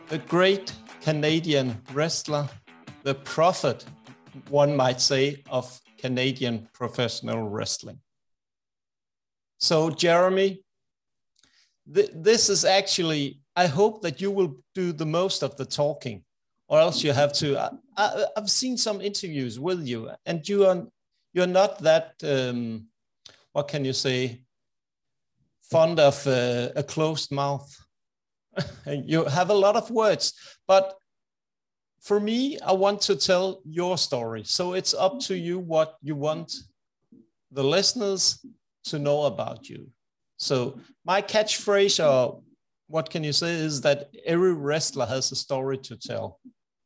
The great Canadian wrestler, the prophet, one might say, of Canadian professional wrestling. So, Jeremy, this is actually, I hope that you will do the most of the talking, or else you have to. I've seen some interviews with you, and you're not that, what can you say, fond of a closed mouth. You have a lot of words, but for me, I want to tell your story. So it's up to you what you want the listeners to know about you. So my catchphrase, or what can you say, is that every wrestler has a story to tell.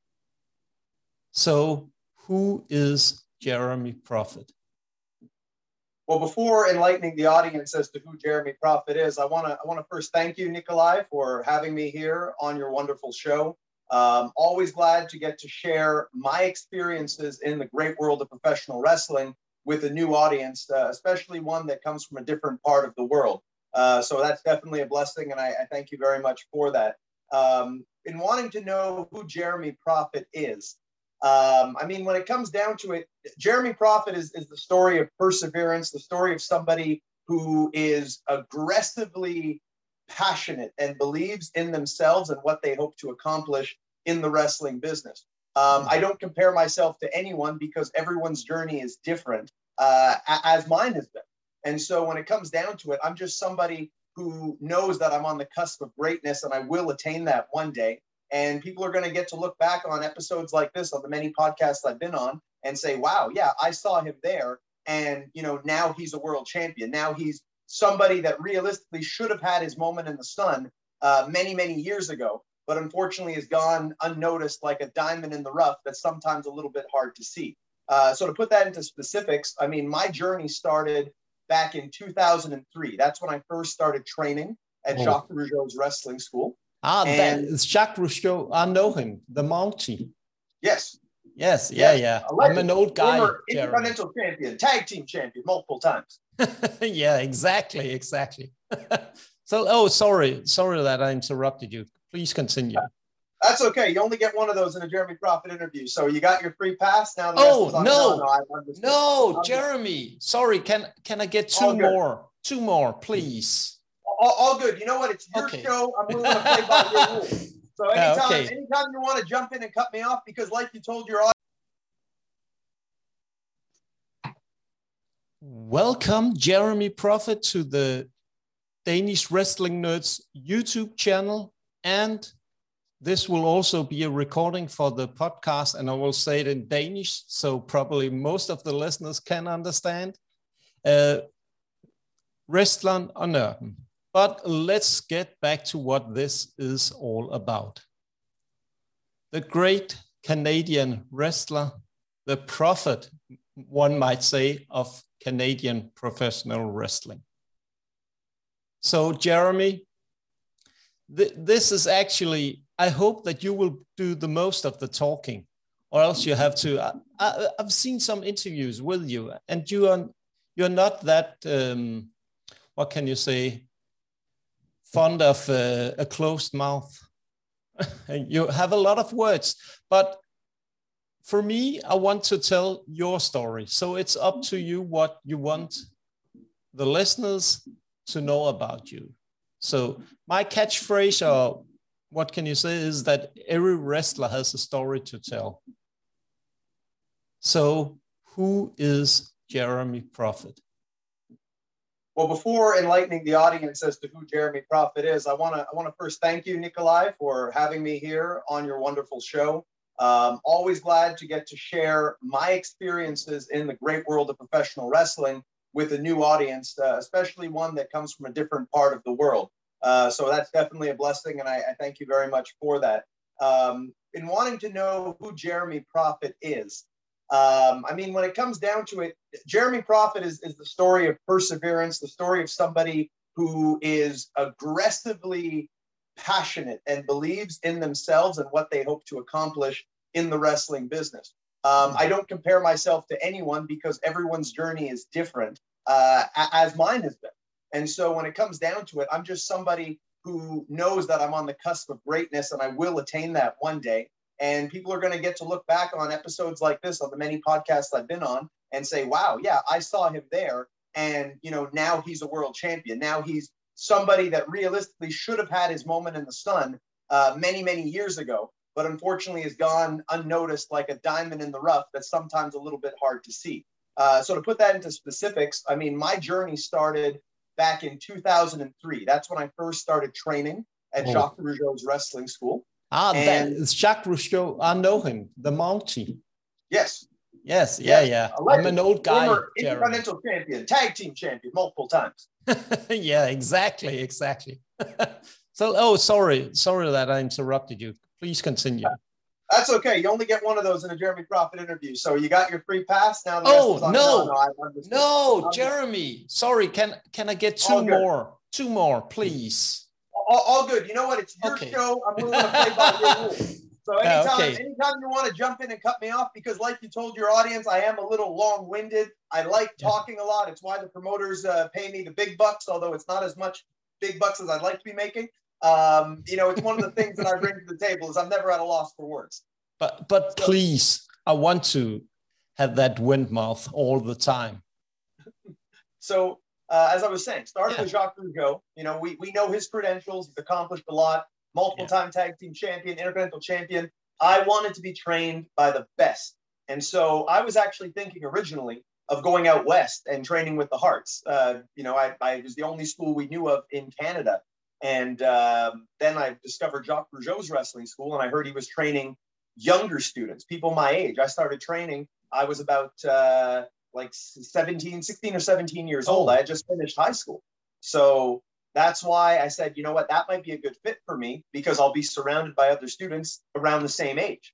So who is Jeremy Prophet? Well, before enlightening the audience as to who Jeremy Prophet is, I want to first thank you, Nikolai, for having me here on your wonderful show. Always glad to get to share my experiences in the great world of professional wrestling with a new audience, especially one that comes from a different part of the world. So that's definitely a blessing, and I thank you very much for that. In wanting to know who Jeremy Prophet is, I mean, when it comes down to it, Jeremy Prophet is the story of perseverance, the story of somebody who is aggressively passionate and believes in themselves and what they hope to accomplish in the wrestling business. I don't compare myself to anyone because everyone's journey is different, as mine has been. And so when it comes down to it, I'm just somebody who knows that I'm on the cusp of greatness and I will attain that one day. And people are going to get to look back on episodes like this, on the many podcasts I've been on, and say, wow, yeah, I saw him there. And, you know, now he's a world champion. Now he's somebody that realistically should have had his moment in the sun many, many years ago, but unfortunately has gone unnoticed like a diamond in the rough that's sometimes a little bit hard to see. So to put that into specifics, I mean, my journey started back in 2003. That's when I first started training at Jacques Rougeau's wrestling school. That is Jacques Rougeau. I know him, the Mountie. Yes. Yes, yeah. I'm an old guy. Former Intercontinental champion, tag team champion, multiple times. Yeah, exactly. So, sorry that I interrupted you. Please continue. That's okay. You only get one of those in a Jeremy Prophet interview. So you got your free pass. Now no, Jeremy. Sorry, can I get two more? Two more, please. All good. You know what? It's your show. I'm willing to play by your rules. So anytime you want to jump in and cut me off, because like you told your audience. Welcome, Jeremy Prophet, to the Danish Wrestling Nerds YouTube channel. And this will also be a recording for the podcast, and I will say it in Danish, so probably most of the listeners can understand. Wrestleren og Nørden. But let's get back to what this is all about. The great Canadian wrestler, the prophet, one might say, of Canadian professional wrestling. So, Jeremy, this is actually, I hope that you will do the most of the talking, or else you have to. I've seen some interviews with you, and you're not that, what can you say, fond of a closed mouth. You have a lot of words, but for me, I want to tell your story. So it's up to you what you want the listeners to know about you. So my catchphrase, or what can you say, is that every wrestler has a story to tell. So who is Jeremy Prophet? Well, before enlightening the audience as to who Jeremy Prophet is, I want to first thank you, Nikolai, for having me here on your wonderful show. Always glad to get to share my experiences in the great world of professional wrestling with a new audience, especially one that comes from a different part of the world. So that's definitely a blessing, and I thank you very much for that. In wanting to know who Jeremy Prophet is, I mean, when it comes down to it, Jeremy Prophet is the story of perseverance, the story of somebody who is aggressively passionate and believes in themselves and what they hope to accomplish in the wrestling business. I don't compare myself to anyone because everyone's journey is different, as mine has been. And so when it comes down to it, I'm just somebody who knows that I'm on the cusp of greatness and I will attain that one day. And people are going to get to look back on episodes like this, on the many podcasts I've been on, and say, wow, yeah, I saw him there. And, you know, now he's a world champion. Now he's somebody that realistically should have had his moment in the sun many, many years ago, but unfortunately has gone unnoticed like a diamond in the rough that's sometimes a little bit hard to see. So to put that into specifics, I mean, my journey started back in 2003. That's when I first started training at Jacques Rougeau's wrestling school. That is Jacques Rougeau. I know him, the Mountie. Yes. Yes, yeah. I'm an old guy. Former Intercontinental champion, tag team champion, multiple times. Yeah, exactly. So, sorry that I interrupted you. Please continue. That's okay. You only get one of those in a Jeremy Prophet interview. So you got your free pass. Now no, Jeremy. Sorry, can I get two more? Two more, please. All good. You know what? It's your show. I'm willing to play by your rules. So anytime you want to jump in and cut me off, because like you told your audience, I am a little long-winded. I like talking a lot. It's why the promoters pay me the big bucks, although it's not as much big bucks as I'd like to be making. You know, it's one of the things that I bring to the table is I'm never at a loss for words. But please, I want to have that wind mouth all the time. So as I was saying, started with Jacques Rougeau. You know, we know his credentials. He's accomplished a lot. Multiple-time tag team champion, intercontinental champion. I wanted to be trained by the best. And so I was actually thinking originally of going out west and training with the Hearts. You know, I was the only school we knew of in Canada. And then I discovered Jacques Rougeau's wrestling school, and I heard he was training younger students, people my age. I started training. I was about like 16 or 17 years old. I had just finished high school. So that's why I said, you know what, that might be a good fit for me because I'll be surrounded by other students around the same age.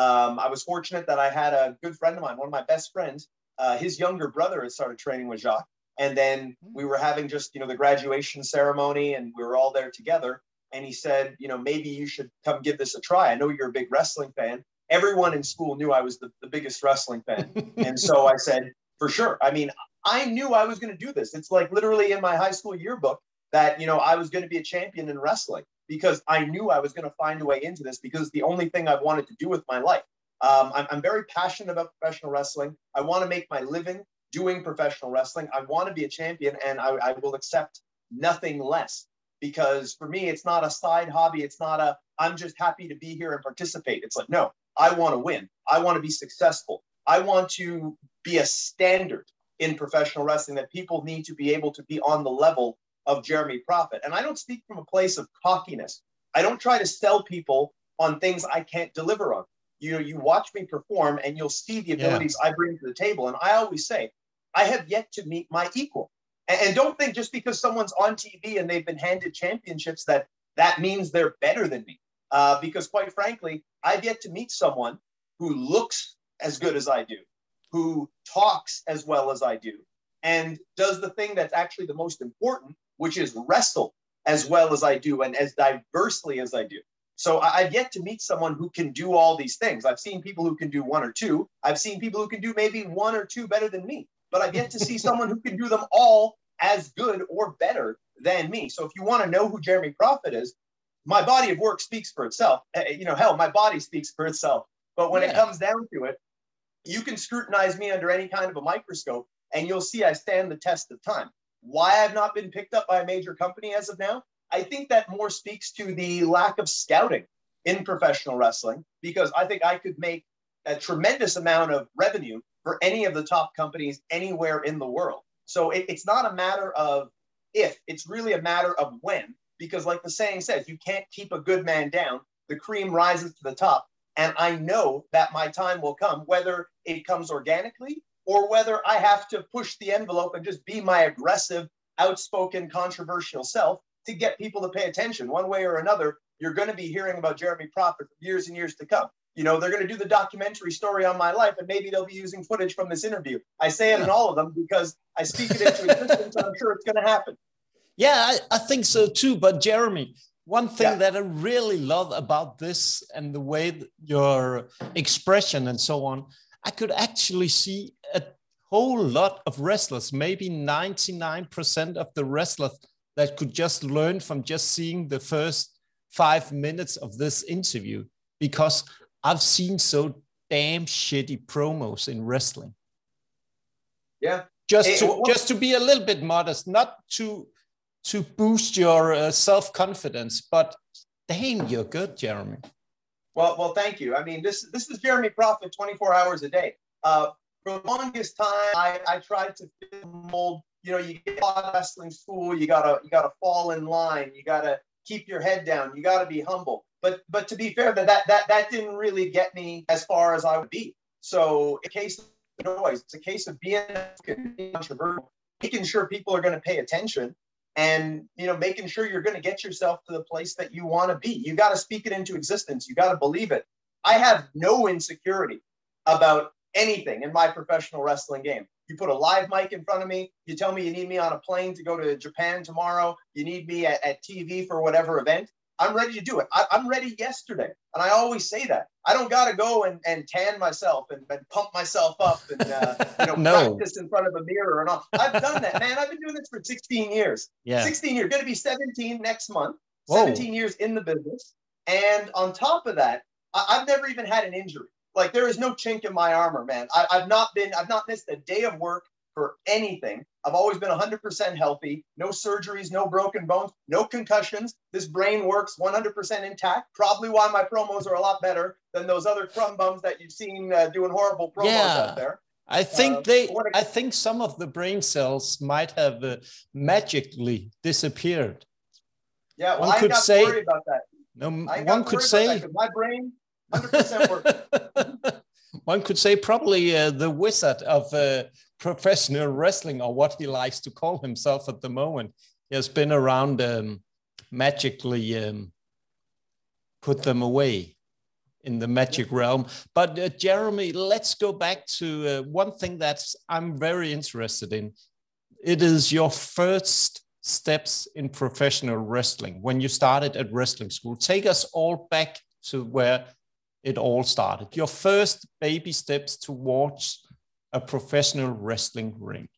I was fortunate that I had a good friend of mine, one of my best friends, his younger brother had started training with Jacques. And then we were having just, you know, the graduation ceremony and we were all there together. And he said, you know, maybe you should come give this a try. I know you're a big wrestling fan. Everyone in school knew I was the biggest wrestling fan. And so I said, for sure. I mean, I knew I was going to do this. It's like literally in my high school yearbook that, you know, I was going to be a champion in wrestling because I knew I was going to find a way into this because it's the only thing I've wanted to do with my life. I'm very passionate about professional wrestling. I want to make my living doing professional wrestling. I want to be a champion and I will accept nothing less because for me, it's not a side hobby. It's not I'm just happy to be here and participate. It's like, no, I want to win. I want to be successful. I want to be a standard in professional wrestling that people need to be able to be on the level of Jeremy Prophet. And I don't speak from a place of cockiness. I don't try to sell people on things I can't deliver on. You know, you watch me perform and you'll see the abilities I bring to the table. And I always say, I have yet to meet my equal. And don't think just because someone's on TV and they've been handed championships that means they're better than me. Because quite frankly, I've yet to meet someone who looks as good as I do, who talks as well as I do, and does the thing that's actually the most important, which is wrestle as well as I do and as diversely as I do. So I've yet to meet someone who can do all these things. I've seen people who can do one or two. I've seen people who can do maybe one or two better than me, but I've yet to see someone who can do them all as good or better than me. So if you want to know who Jeremy Prophet is, my body of work speaks for itself. You know, hell, my body speaks for itself. But when it comes down to it, you can scrutinize me under any kind of a microscope and you'll see I stand the test of time. Why I've not been picked up by a major company as of now, I think that more speaks to the lack of scouting in professional wrestling, because I think I could make a tremendous amount of revenue for any of the top companies anywhere in the world. So it's not a matter of if, it's really a matter of when, because like the saying says, you can't keep a good man down. The cream rises to the top. And I know that my time will come, whether it comes organically or whether I have to push the envelope and just be my aggressive, outspoken, controversial self to get people to pay attention. One way or another, you're going to be hearing about Jeremy Prophet for years and years to come. You know, they're going to do the documentary story on my life, and maybe they'll be using footage from this interview. I say it in all of them because I speak it into existence, and I'm sure it's going to happen. Yeah, I think so too. But Jeremy, one thing that I really love about this and the way your expression and so on, I could actually see a whole lot of wrestlers, maybe 99% of the wrestlers that could just learn from just seeing the first 5 minutes of this interview, because I've seen so damn shitty promos in wrestling. Yeah. Just to be a little bit modest, not to boost your self-confidence, but damn, you're good, Jeremy. Well, thank you. I mean, this is Jeremy Prophet 24 hours a day. For the longest time, I tried to fit the mold. You know, you get out of wrestling school, you gotta fall in line, you gotta keep your head down, you gotta be humble. But to be fair, that didn't really get me as far as I would be. So in case of noise, it's a case of being controversial, making sure people are going to pay attention, and making sure you're going to get yourself to the place that you want to be. You got to speak it into existence. You got to believe it. I have no insecurity about anything in my professional wrestling game. You put a live mic in front of me, you tell me you need me on a plane to go to Japan tomorrow, you need me at TV for whatever event, I'm ready to do it. I'm ready yesterday. And I always say that. I don't got to go and tan myself and pump myself up and no. practice in front of a mirror and all. I've done that, man. I've been doing this for 16 years. Yeah. 16 years. Going to be 17 next month. Whoa. 17 years in the business. And on top of that, I've never even had an injury. Like, there is no chink in my armor, man. I've not missed a day of work for anything. I've always been 100% healthy, no surgeries, no broken bones, no concussions. This brain works 100% intact. Probably why my promos are a lot better than those other crumb bums that you've seen doing horrible promos out there. I think I think some of the brain cells might have magically disappeared. Yeah, well, I ain't got to worry about that. No, one could say my brain 100% works. One could say probably the wizard of professional wrestling, or what he likes to call himself at the moment. He has been around magically put them away in the magic realm. But Jeremy, let's go back to one thing that I'm very interested in. It is your first steps in professional wrestling when you started at wrestling school. Take us all back to where it all started. Your first baby steps towards a professional wrestling ring.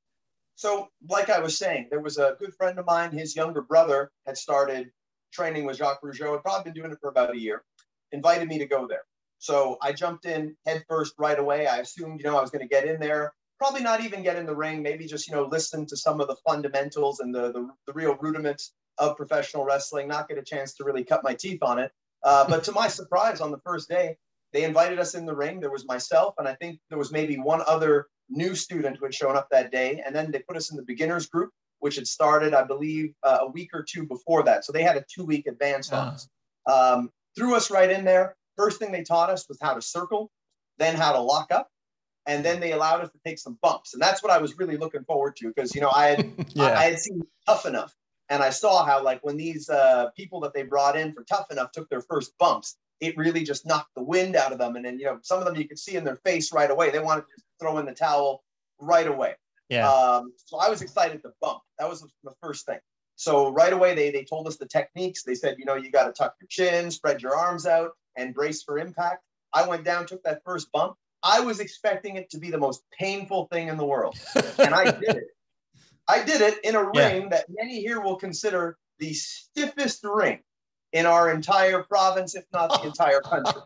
So, like I was saying, there was a good friend of mine. His younger brother had started training with Jacques Rougeau. Had probably been doing it for about a year. Invited me to go there. So I jumped in head first right away. I assumed, I was going to get in there. Probably not even get in the ring. Maybe just, listen to some of the fundamentals and the real rudiments of professional wrestling. Not get a chance to really cut my teeth on it. But to my surprise, on the first day, they invited us in the ring. There was myself, and I think there was maybe one other new student who had shown up that day. And then they put us in the beginners group, which had started, I believe, a week or two before that. So they had a 2-week advance on us. Threw us right in there. First thing they taught us was how to circle, then how to lock up. And then they allowed us to take some bumps. And that's what I was really looking forward to, because, I had seen Tough Enough. And I saw how, like, when these people that they brought in for Tough Enough took their first bumps, it really just knocked the wind out of them. And then, some of them you could see in their face right away. They wanted to just throw in the towel right away. Yeah. So I was excited to bump. That was the first thing. So right away, they told us the techniques. They said, you got to tuck your chin, spread your arms out, and brace for impact. I went down, took that first bump. I was expecting it to be the most painful thing in the world. And I did it. I did it in a ring that many here will consider the stiffest ring in our entire province, if not the entire country.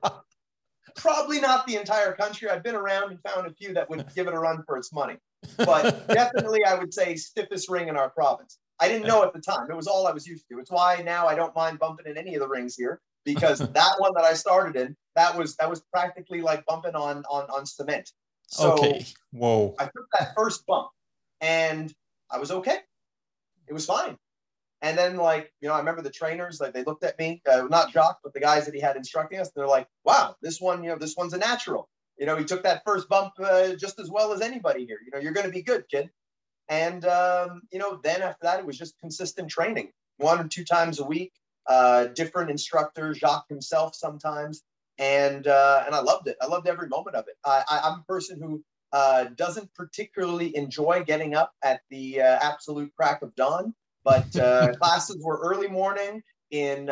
Probably not the entire country. I've been around and found a few that would give it a run for its money. But definitely, I would say stiffest ring in our province. I didn't know at the time. It was all I was used to. It's why now I don't mind bumping in any of the rings here, because that one that I started in, that was practically like bumping on cement. So okay. Whoa. I took that first bump and I was okay. It was fine. And then, I remember the trainers, they looked at me, not Jacques, but the guys that he had instructing us. They're like, wow, this one's a natural. He took that first bump just as well as anybody here. You're going to be good, kid. And, then after that, it was just consistent training, 1 or 2 times a week, different instructors, Jacques himself sometimes. And I loved it. I loved every moment of it. I'm a person who doesn't particularly enjoy getting up at the absolute crack of dawn, but classes were early morning in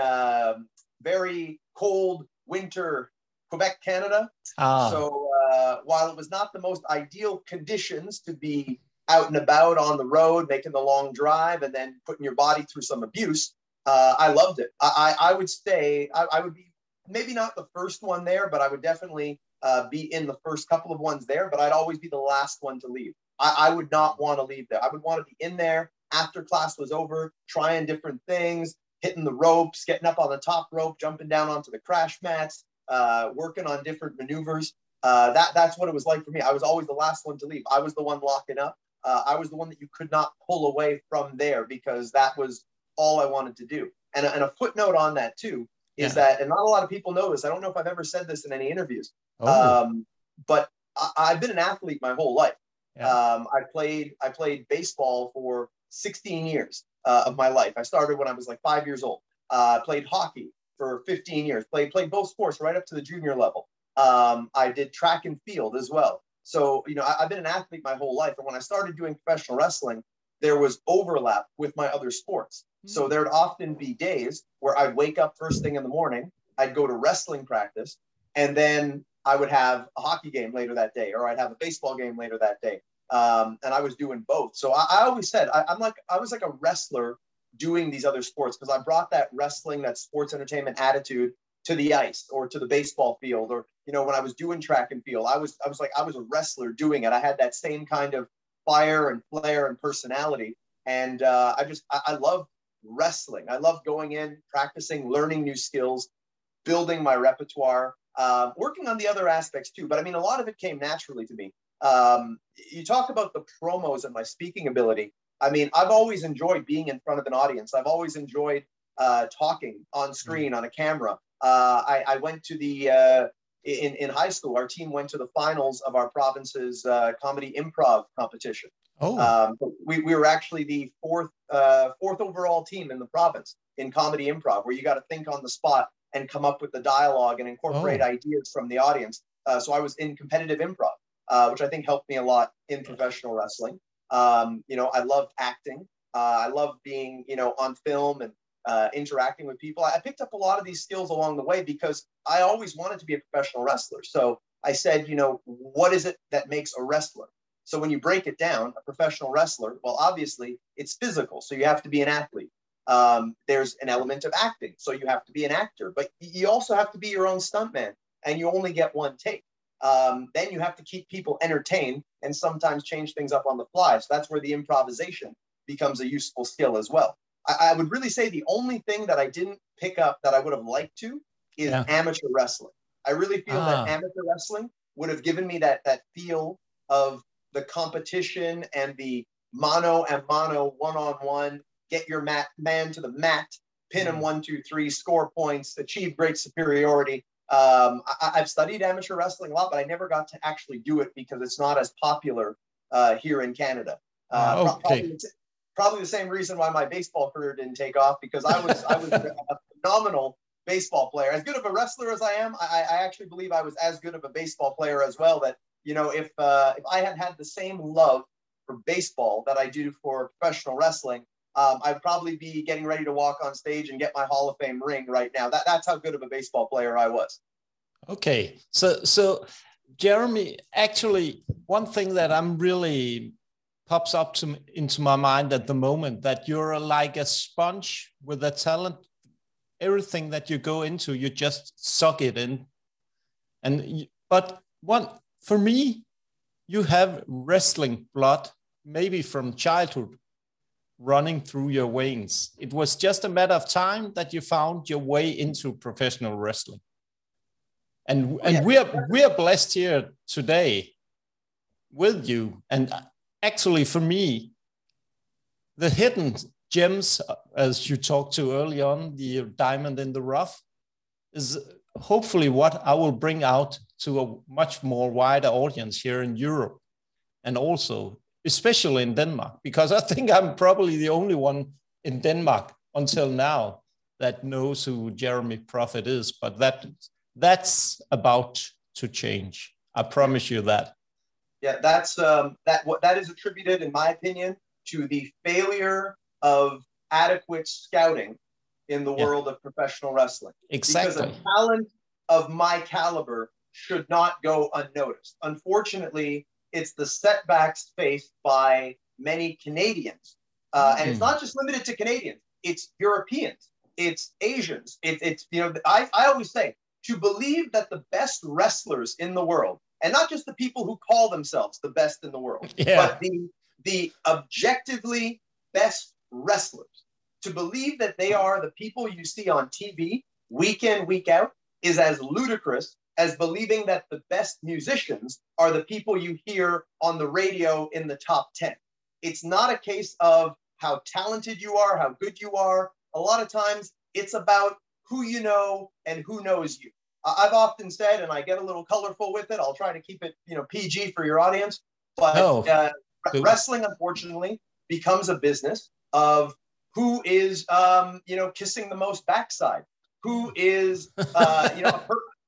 very cold winter Quebec, Canada. So while it was not the most ideal conditions to be out and about on the road, making the long drive, and then putting your body through some abuse. I loved it. I would say I would be maybe not the first one there, but I would definitely be in the first couple of ones there, but I'd always be the last one to leave. I would not want to leave there. I would want to be in there after class was over, trying different things, hitting the ropes, getting up on the top rope, jumping down onto the crash mats, working on different maneuvers. That's what it was like for me. I was always the last one to leave. I was the one locking up. I was the one that you could not pull away from there because that was all I wanted to do. And a footnote on that too is that, and not a lot of people know this, I don't know if I've ever said this in any interviews, but I've been an athlete my whole life. I played baseball for 16 years of my life. I started when I was like 5 years old. Played hockey for 15 years. Played both sports right up to the junior level. I did track and field as well. So, you know, I've been an athlete my whole life. And when I started doing professional wrestling, there was overlap with my other sports. So there'd often be days where I'd wake up first thing in the morning, I'd go to wrestling practice, and then I would have a hockey game later that day, or I'd have a baseball game later that day. And I was doing both. So I always said, I was like a wrestler doing these other sports because I brought that wrestling, that sports entertainment attitude to the ice or to the baseball field, or, you know, when I was doing track and field, I was a wrestler doing it. I had that same kind of fire and flair and personality. And I love wrestling. I love going in, practicing, learning new skills, building my repertoire, working on the other aspects too. But I mean, a lot of it came naturally to me. You talk about the promos and my speaking ability. I mean, I've always enjoyed being in front of an audience. I've always enjoyed talking on screen, on a camera. I went to the, in high school, our team went to the finals of our province's comedy improv competition. We were actually the fourth overall team in the province in comedy improv, where you got to think on the spot and come up with the dialogue and incorporate ideas from the audience. So I was in competitive improv, which I think helped me a lot in professional wrestling. You know, I loved acting. I loved being, you know, on film and interacting with people. I picked up a lot of these skills along the way because I always wanted to be a professional wrestler. So I said, you know, what is it that makes a wrestler? So when you break it down, a professional wrestler, well, obviously it's physical. So you have to be an athlete. There's an element of acting. So you have to be an actor, but you also have to be your own stuntman, and you only get one take. Then you have to keep people entertained and sometimes change things up on the fly. So that's where the improvisation becomes a useful skill as well. I would really say the only thing that I didn't pick up that I would have liked to is amateur wrestling. I really feel that amateur wrestling would have given me that feel of the competition and the mano a mano, one-on-one, get your man to the mat, pin him 1, 2, 3, score points, achieve great superiority. I've studied amateur wrestling a lot, but I never got to actually do it because it's not as popular here in Canada. Probably the same reason why my baseball career didn't take off, because I was a phenomenal baseball player. As good of a wrestler as I am, I actually believe I was as good of a baseball player as well. That, you know, if I had had the same love for baseball that I do for professional wrestling, I'd probably be getting ready to walk on stage and get my Hall of Fame ring right now. That's how good of a baseball player I was. Okay, so Jeremy, actually, one thing that I'm really pops up into my mind at the moment, that you're like a sponge with a talent. Everything that you go into, you just suck it in. But for me, you have wrestling blood, maybe from childhood, running through your veins. It was just a matter of time that you found your way into professional wrestling. And we are blessed here today with you. And actually, for me, the hidden gems, as you talked to early on, the diamond in the rough, is hopefully what I will bring out to a much more wider audience here in Europe, and also especially in Denmark, because I think I'm probably the only one in Denmark until now that knows who Jeremy Prophet is. But that's about to change. I promise you that. Yeah, that is attributed, in my opinion, to the failure of adequate scouting in the world of professional wrestling. Exactly. Because a talent of my caliber should not go unnoticed. Unfortunately, it's the setbacks faced by many Canadians. And it's not just limited to Canadians. It's Europeans. It's Asians. It's you know, I always say, to believe that the best wrestlers in the world, and not just the people who call themselves the best in the world, but the objectively best wrestlers, to believe that they are the people you see on TV week in, week out, is as ludicrous as believing that the best musicians are the people you hear on the radio in the top 10. It's not a case of how talented you are, how good you are. A lot of times it's about who you know and who knows you. I've often said, and I get a little colorful with it, I'll try to keep it, you know, PG for your audience, but wrestling, unfortunately, becomes a business of who is, you know, kissing the most backside, who is, you know,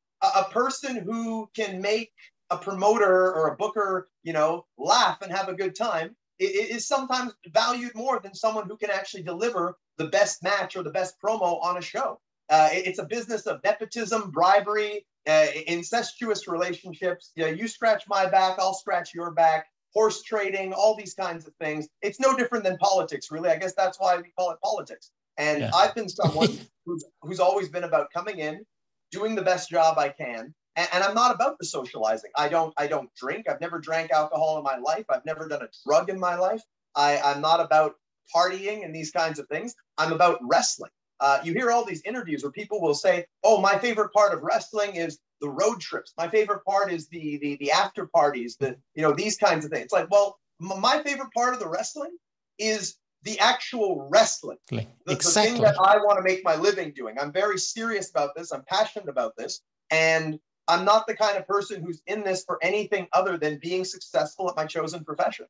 a person who can make a promoter or a booker, you know, laugh and have a good time is sometimes valued more than someone who can actually deliver the best match or the best promo on a show. It's a business of nepotism, bribery, incestuous relationships. You know, you scratch my back, I'll scratch your back, horse trading, all these kinds of things. It's no different than politics, really. I guess that's why we call it politics. And I've been someone who's always been about coming in, doing the best job I can. And I'm not about the socializing. I don't drink. I've never drank alcohol in my life. I've never done a drug in my life. I'm not about partying and these kinds of things. I'm about wrestling. You hear all these interviews where people will say, oh, my favorite part of wrestling is the road trips. My favorite part is the after parties, you know, these kinds of things. It's like, well, my favorite part of the wrestling is the actual wrestling. The thing that I want to make my living doing. I'm very serious about this. I'm passionate about this. And I'm not the kind of person who's in this for anything other than being successful at my chosen profession.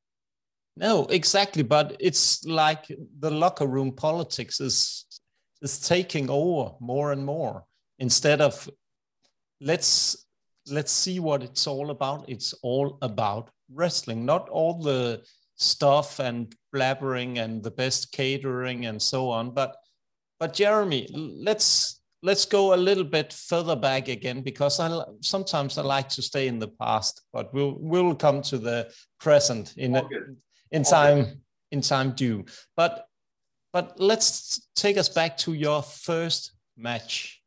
No, exactly. But it's like the locker room politics is taking over more and more, instead of let's see what it's all about. It's all about wrestling, not all the stuff and blabbering and the best catering and so on. But Jeremy, let's go a little bit further back again, because sometimes I like to stay in the past, but we'll come to the present in time due. But let's take us back to your first match.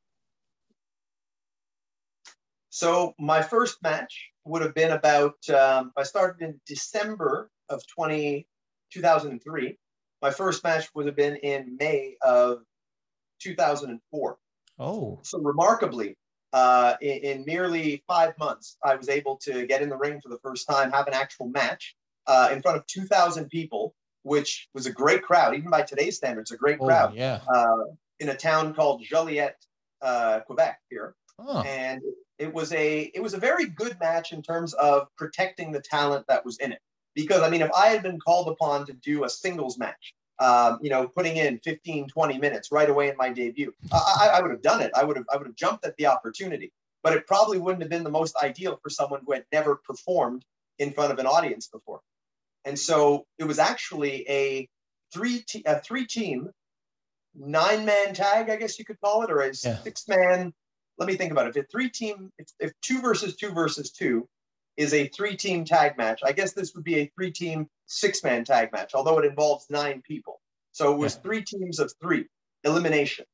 So my first match would have been about, I started in December of 2003. My first match would have been in May of 2004. Oh. So remarkably, in merely 5 months, I was able to get in the ring for the first time, have an actual match in front of 2,000 people, which was a great crowd, even by today's standards, a great crowd. Yeah. In a town called Joliette, Quebec here. Oh. And it was a very good match in terms of protecting the talent that was in it. Because, I mean, if I had been called upon to do a singles match, you know, putting in 15, 20 minutes right away in my debut, I would have done it. I would have jumped at the opportunity. But it probably wouldn't have been the most ideal for someone who had never performed in front of an audience before. And so it was actually a three-team, 9-man tag, I guess you could call it, or a 6-man. Let me think about it. If 2 versus 2 versus 2 is a 3-team tag match, I guess this would be a 3-team 6-man tag match, although it involves 9 people. So it was 3 teams of 3, elimination.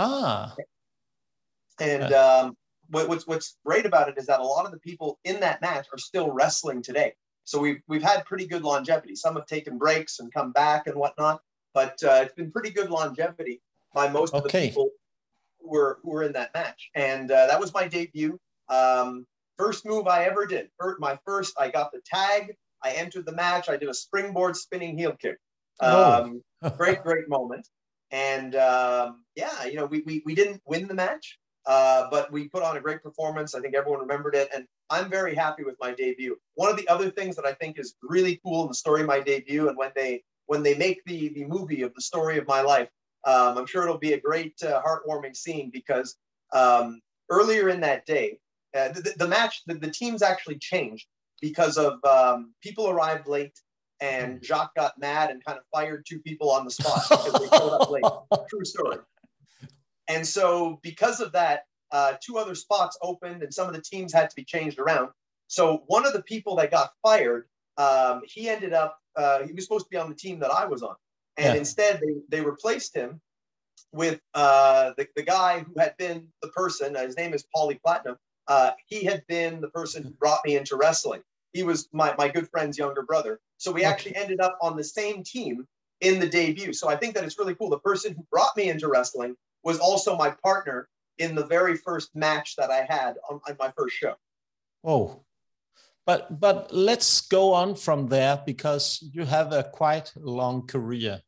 And what's great about it is that a lot of the people in that match are still wrestling today. So we've had pretty good longevity. Some have taken breaks and come back and whatnot, but it's been pretty good longevity by most of the people who were in that match. And that was my debut. First move I ever did. I got the tag. I entered the match. I did a springboard spinning heel kick. Great moment. And yeah, you know, we didn't win the match, but we put on a great performance. I think everyone remembered it. And I'm very happy with my debut. One of the other things that I think is really cool in the story of my debut, and when they make the movie of the story of my life, I'm sure it'll be a great heartwarming scene, because earlier in that day, the match, the teams actually changed because of people arrived late, and Jacques got mad and kind of fired 2 people on the spot because they showed up late. True story. And so because of that, 2 other spots opened and some of the teams had to be changed around. So one of the people that got fired he ended up, he was supposed to be on the team that I was on. And instead they replaced him with the guy who had been the person, his name is Paulie Platinum. He had been the person who brought me into wrestling. He was my good friend's younger brother. So we actually ended up on the same team in the debut. So I think that it's really cool. The person who brought me into wrestling was also my partner in the very first match that I had on my first show. Oh, but let's go on from there, because you have a quite long career.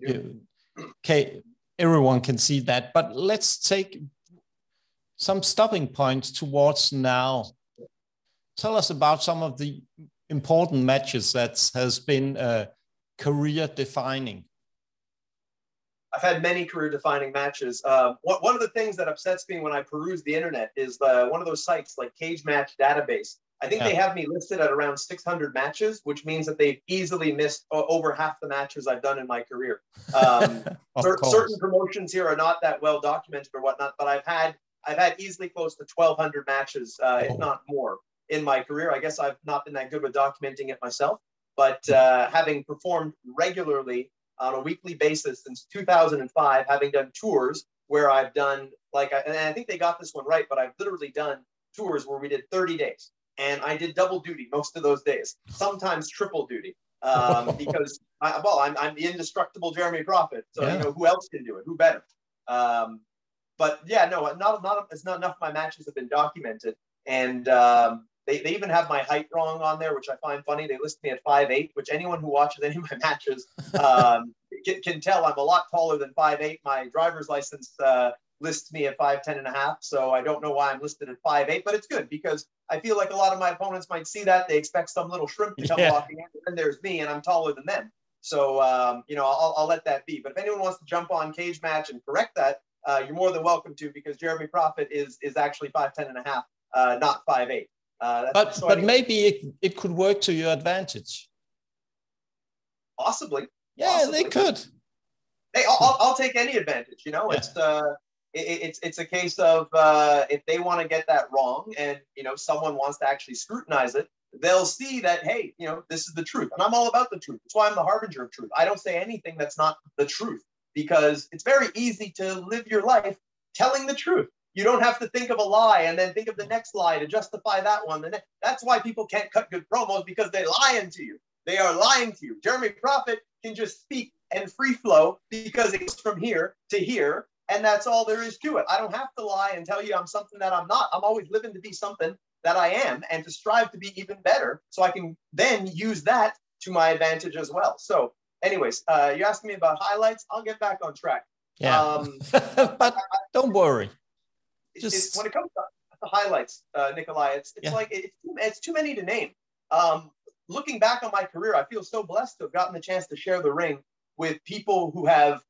Okay, everyone can see that. But let's take some stopping points towards now. Tell us about some of the important matches that has been career defining. I've had many career-defining matches. One of the things that upsets me when I peruse the internet is one of those sites like Cage Match Database. I think they have me listed at around 600 matches, which means that they've easily missed over half the matches I've done in my career. Certain promotions here are not that well documented or whatnot, but I've had easily close to 1,200 matches, if not more, in my career. I guess I've not been that good with documenting it myself, but having performed regularly on a weekly basis since 2005, having done tours where I've done, and I think they got this one right, but I've literally done tours where we did 30 days. And I did double duty most of those days, sometimes triple duty, because I'm the indestructible Jeremy Prophet. So, who else can do it? Who better? But yeah, no, it's not enough of my matches have been documented. And they even have my height wrong on there, which I find funny. They list me at 5'8", which anyone who watches any of my matches can tell I'm a lot taller than 5'8". My driver's license lists me at 5'10.5". So I don't know why I'm listed at 5'8", but it's good because I feel like a lot of my opponents might see that. They expect some little shrimp to come walking in, and there's me, and I'm taller than them. So, I'll let that be. But if anyone wants to jump on Cage Match and correct that, you're more than welcome to, because Jeremy Prophet is actually 5'10.5", not 5'8". But maybe it could work to your advantage. Possibly. Yeah, they could. Hey, I'll take any advantage. It's a case of if they want to get that wrong, and someone wants to actually scrutinize it, they'll see that, hey, this is the truth, and I'm all about the truth. That's why I'm the harbinger of truth. I don't say anything that's not the truth, because it's very easy to live your life telling the truth. You don't have to think of a lie and then think of the next lie to justify that one. That's why people can't cut good promos, because they're lying to you. They are lying to you. Jeremy Prophet can just speak and free flow because it goes from here to here, and that's all there is to it. I don't have to lie and tell you I'm something that I'm not. I'm always living to be something that I am, and to strive to be even better, so I can then use that to my advantage as well. So anyways, you're asking me about highlights. I'll get back on track. Yeah. But don't worry. When it comes to the highlights, Nikolai, it's too many to name. Looking back on my career, I feel so blessed to have gotten the chance to share the ring with people who have,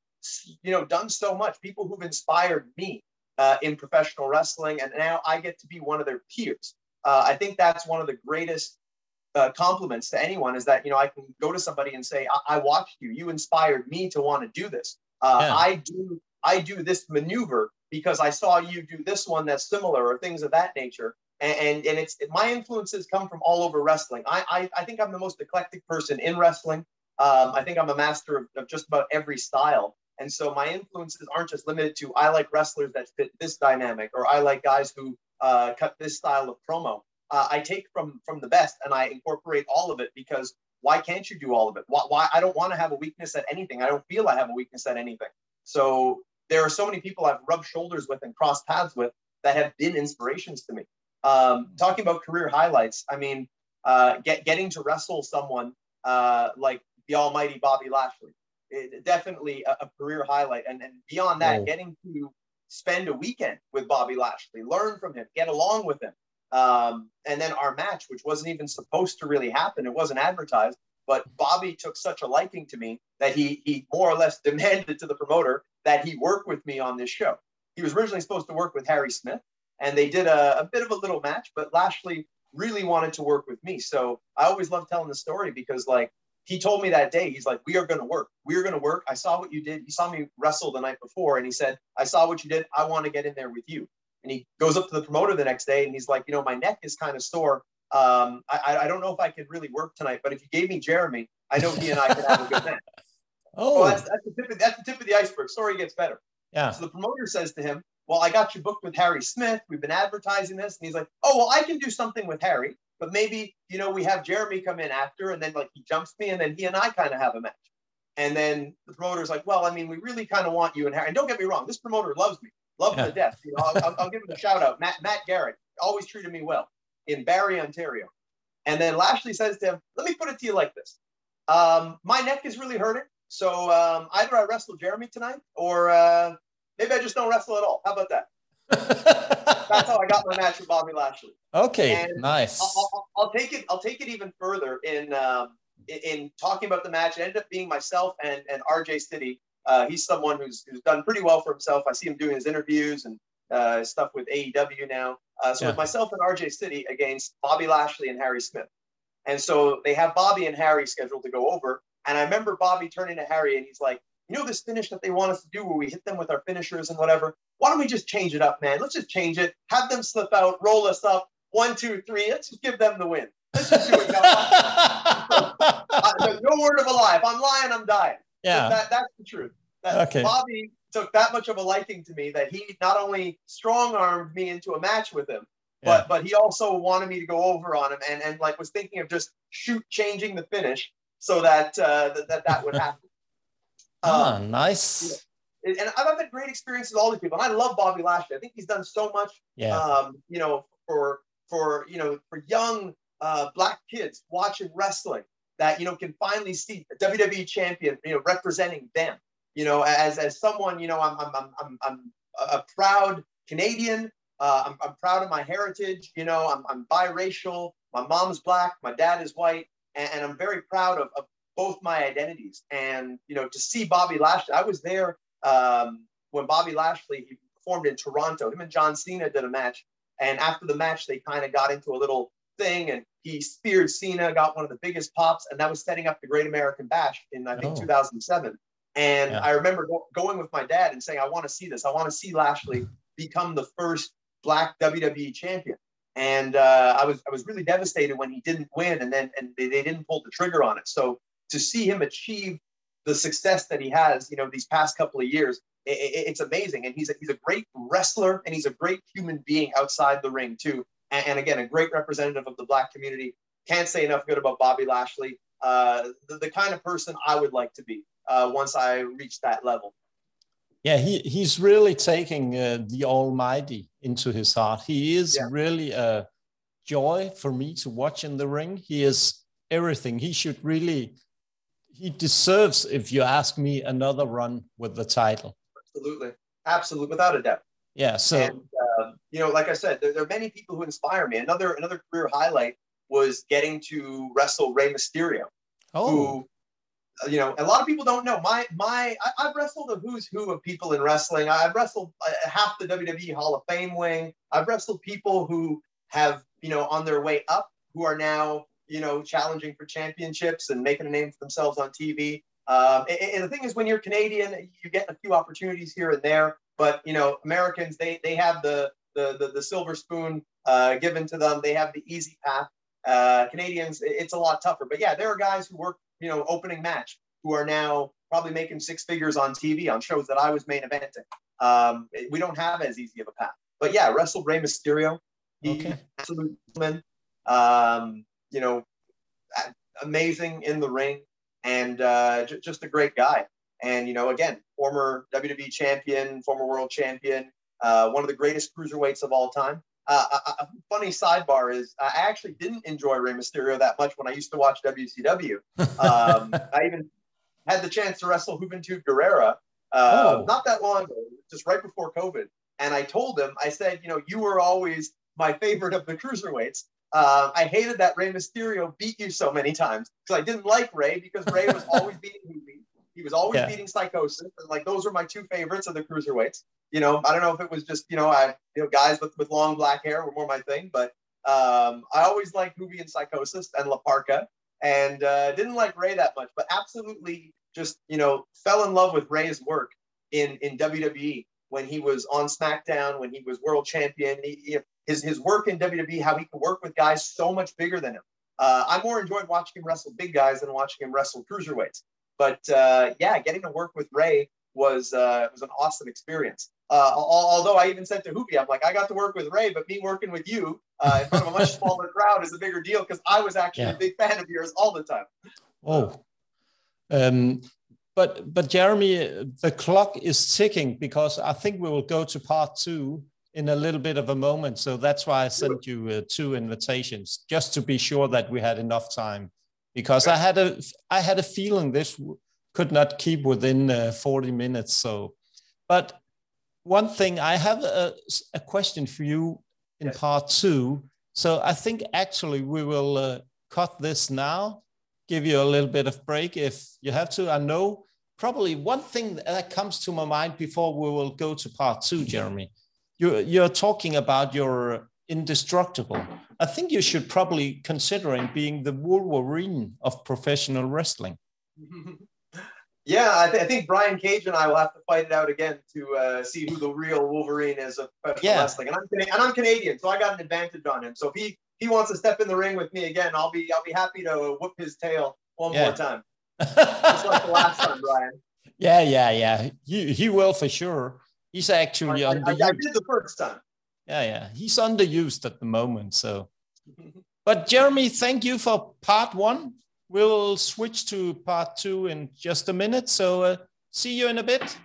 done so much, people who've inspired me in professional wrestling, and now I get to be one of their peers. I think that's one of the greatest compliments to anyone, is that, I can go to somebody and say, I watched you. You inspired me to want to do this. I do this maneuver because I saw you do this one that's similar, or things of that nature. And my influences come from all over wrestling. I think I'm the most eclectic person in wrestling. I think I'm a master of just about every style. And so my influences aren't just limited to, I like wrestlers that fit this dynamic, or I like guys who cut this style of promo. I take from the best, and I incorporate all of it, because why can't you do all of it? Why I don't want to have a weakness at anything. I don't feel I have a weakness at anything. So there are so many people I've rubbed shoulders with and crossed paths with that have been inspirations to me. Talking about career highlights, I mean, getting to wrestle someone like the almighty Bobby Lashley, definitely a career highlight. And beyond that, getting to spend a weekend with Bobby Lashley, learn from him, get along with him. And then our match, which wasn't even supposed to really happen, it wasn't advertised, but Bobby took such a liking to me that he more or less demanded to the promoter that he work with me on this show. He was originally supposed to work with Harry Smith, and they did a bit of a little match, but Lashley really wanted to work with me. So I always love telling the story, because he told me that day, he's like, we are going to work. We are going to work. I saw what you did. You saw me wrestle the night before. And he said, I saw what you did. I want to get in there with you. And he goes up to the promoter the next day, and he's like, my neck is kind of sore. I don't know if I could really work tonight, but if you gave me Jeremy, I know he and I could have a good match. Oh, that's the tip of the iceberg. Story gets better. yeah. So the promoter says to him, well, I got you booked with Harry Smith. We've been advertising this. And he's like, oh, well, I can do something with Harry, but maybe, we have Jeremy come in after, and then like he jumps me, and then he and I kind of have a match. And then the promoter's like, well, I mean, we really kind of want you and Harry. And don't get me wrong, this promoter loves me, loves me to death. I'll give him a shout out. Matt Garrett always treated me well in Barrie, Ontario. And then Lashley says to him, let me put it to you like this. My neck is really hurting. So either I wrestle Jeremy tonight, or maybe I just don't wrestle at all. How about that? That's how I got my match with Bobby Lashley. Okay, and nice. I'll take it even further in talking about the match. It ended up being myself and RJ City. He's someone who's done pretty well for himself. I see him doing his interviews and stuff with AEW now. So with myself and RJ City against Bobby Lashley and Harry Smith. And so they have Bobby and Harry scheduled to go over. And I remember Bobby turning to Harry and he's like, this finish that they want us to do where we hit them with our finishers and whatever, why don't we just change it up, man? Let's just change it. Have them slip out, roll us up. 1, 2, 3. Let's just give them the win. Let's just do it. No word of a lie. If I'm lying, I'm dying. Yeah. That's the truth. Okay. Bobby took that much of a liking to me that he not only strong-armed me into a match with him, but he also wanted me to go over on him and like was thinking of just changing the finish so that that would happen. Nice. And I've had great experiences with all these people. And I love Bobby Lashley. I think he's done so much, for young Black kids watching wrestling that, can finally see a WWE champion, representing them, as someone, I'm a proud Canadian. I'm proud of my heritage. I'm biracial. My mom's Black. My dad is white. And I'm very proud of both my identities. And, to see Bobby Lashley, I was there when Bobby Lashley, he performed in Toronto. Him and John Cena did a match. And after the match, they kind of got into a little thing and he speared Cena, got one of the biggest pops. And that was setting up the Great American Bash in, I think, 2007. And I remember going with my dad and saying, I want to see this. I want to see Lashley become the first Black WWE champion. And I was really devastated when he didn't win and they didn't pull the trigger on it. So to see him achieve the success that he has, these past couple of years, it's amazing. And he's a great wrestler and he's a great human being outside the ring too. And again, a great representative of the Black community. Can't say enough good about Bobby Lashley. The kind of person I would like to be once I reach that level. Yeah, he's really taking the Almighty into his heart. He is really a joy for me to watch in the ring. He is everything. He deserves, if you ask me, another run with the title. Absolutely, without a doubt. Yeah. So, and, like I said, there are many people who inspire me. Another career highlight was getting to wrestle Rey Mysterio, who, a lot of people don't know. I've wrestled a who's who of people in wrestling. I've wrestled half the WWE Hall of Fame wing. I've wrestled people who have, on their way up, who are now, challenging for championships and making a name for themselves on TV. And the thing is, when you're Canadian, you get a few opportunities here and there. But Americans, they have the silver spoon given to them. They have the easy path. Canadians, it's a lot tougher. But yeah, there are guys who work, opening match, who are now probably making 6 figures on TV on shows that I was main eventing. We don't have as easy of a path. But yeah, wrestled Rey Mysterio. Absolute man. Amazing in the ring and just a great guy. And, again, former WWE champion, former world champion, one of the greatest cruiserweights of all time. A funny sidebar is I actually didn't enjoy Rey Mysterio that much when I used to watch WCW. I even had the chance to wrestle Juventud Guerrera not that long ago, just right before COVID. And I told him, I said, you were always my favorite of the cruiserweights. I hated that Rey Mysterio beat you so many times because I didn't like Rey because Rey was always beating Hoovy. He was always beating Psychosis. And like, those were my 2 favorites of the cruiserweights. I don't know if it was just, guys with long black hair were more my thing, but I always liked Hoovy and Psychosis and La Parka and didn't like Rey that much, but absolutely just, fell in love with Rey's work in WWE when he was on SmackDown, when he was world champion. his work in WWE, how he can work with guys so much bigger than him. I more enjoyed watching him wrestle big guys than watching him wrestle cruiserweights. But yeah, getting to work with Ray was an awesome experience. Although I even said to Hoopy, I'm like, I got to work with Ray, but me working with you in front of a much smaller crowd is a bigger deal because I was actually a big fan of yours all the time. Oh, but Jeremy, the clock is ticking because I think we will go to part 2 in a little bit of a moment. So that's why I sent you 2 invitations, just to be sure that we had enough time, because I had a feeling this could not keep within 40 minutes. So, but one thing, I have a question for you in part 2. So I think actually we will cut this now, give you a little bit of break if you have to. I know probably one thing that comes to my mind before we will go to part 2, Jeremy. You're talking about your indestructible. I think you should probably considering being the Wolverine of professional wrestling. Yeah, I think Brian Cage and I will have to fight it out again to see who the real Wolverine is of professional wrestling. And I'm Canadian, so I got an advantage on him. So if he wants to step in the ring with me again, I'll be happy to whoop his tail one more time, just like the last time, Brian. Yeah. He will for sure. He's actually underused. I did the first time. Yeah. He's underused at the moment. So, but Jeremy, thank you for part 1. We'll switch to part 2 in just a minute. So see you in a bit.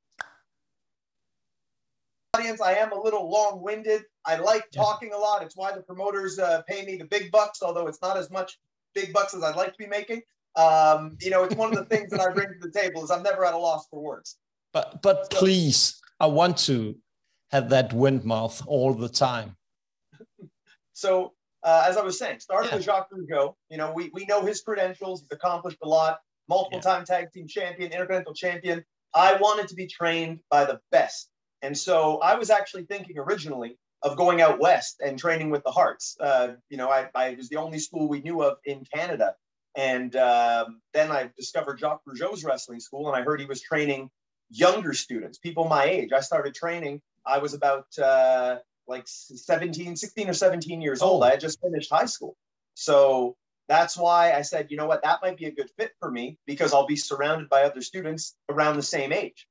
Audience, I am a little long-winded. I like talking a lot. It's why the promoters pay me the big bucks, although it's not as much big bucks as I'd like to be making. It's one of the things that I bring to the table is I'm never at a loss for words. But please, I want to have that wind mouth all the time. So as I was saying, started with Jacques Rougeau. We know his credentials. He's accomplished a lot. Multiple-time tag team champion, intercontinental champion. I wanted to be trained by the best. And so I was actually thinking originally of going out west and training with the Hearts. I was the only school we knew of in Canada. And then I discovered Jacques Rougeau's wrestling school, and I heard he was training younger students, people my age. I started training. I was about 16 or 17 years old. I had just finished high school. So that's why I said, you know what, that might be a good fit for me because I'll be surrounded by other students around the same age.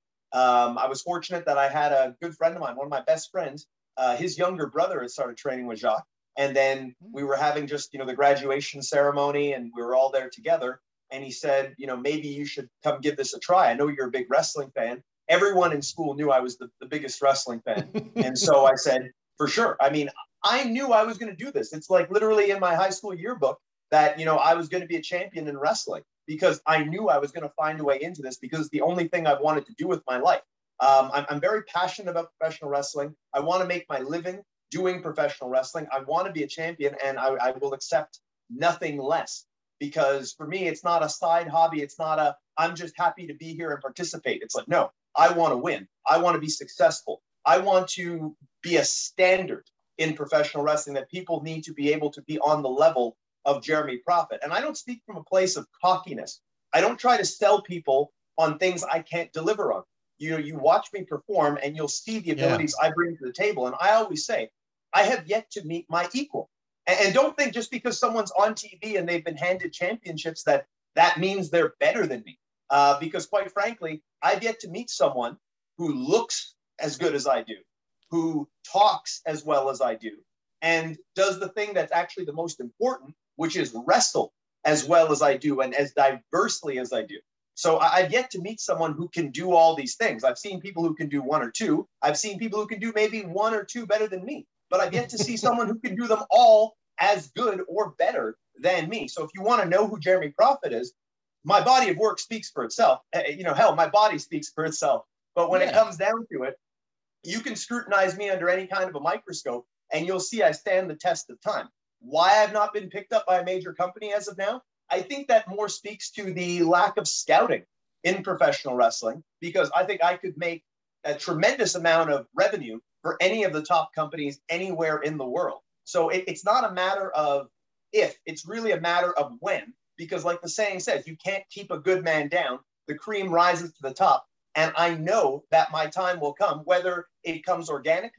I was fortunate that I had a good friend of mine, one of my best friends, his younger brother had started training with Jacques. And then we were having just, the graduation ceremony and we were all there together. And he said, maybe you should come give this a try. I know you're a big wrestling fan. Everyone in school knew I was the biggest wrestling fan. And so I said, for sure. I mean, I knew I was going to do this. It's like literally in my high school yearbook that, I was going to be a champion in wrestling because I knew I was going to find a way into this because it's the only thing I've wanted to do with my life. I'm very passionate about professional wrestling. I want to make my living doing professional wrestling. I want to be a champion and I will accept nothing less because for me, it's not a side hobby. It's not I'm just happy to be here and participate. It's like, no, I want to win. I want to be successful. I want to be a standard in professional wrestling that people need to be able to be on the level of Jeremy Prophet. And I don't speak from a place of cockiness. I don't try to sell people on things I can't deliver on. You watch me perform and you'll see the abilities I bring to the table. And I always say, I have yet to meet my equal. And don't think just because someone's on TV and they've been handed championships that means they're better than me. Because quite frankly, I've yet to meet someone who looks as good as I do, who talks as well as I do, and does the thing that's actually the most important, which is wrestle as well as I do and as diversely as I do. So I've yet to meet someone who can do all these things. I've seen people who can do one or two. I've seen people who can do maybe one or two better than me, but I've yet to see someone who can do them all as good or better than me. So if you want to know who Jeremy Prophet is, my body of work speaks for itself. Hell, my body speaks for itself. But when it comes down to it, you can scrutinize me under any kind of a microscope and you'll see I stand the test of time. Why I've not been picked up by a major company as of now? I think that more speaks to the lack of scouting in professional wrestling, because I think I could make a tremendous amount of revenue for any of the top companies anywhere in the world. So it's not a matter of if, it's really a matter of when, because like the saying says, you can't keep a good man down. The cream rises to the top. And I know that my time will come, whether it comes organically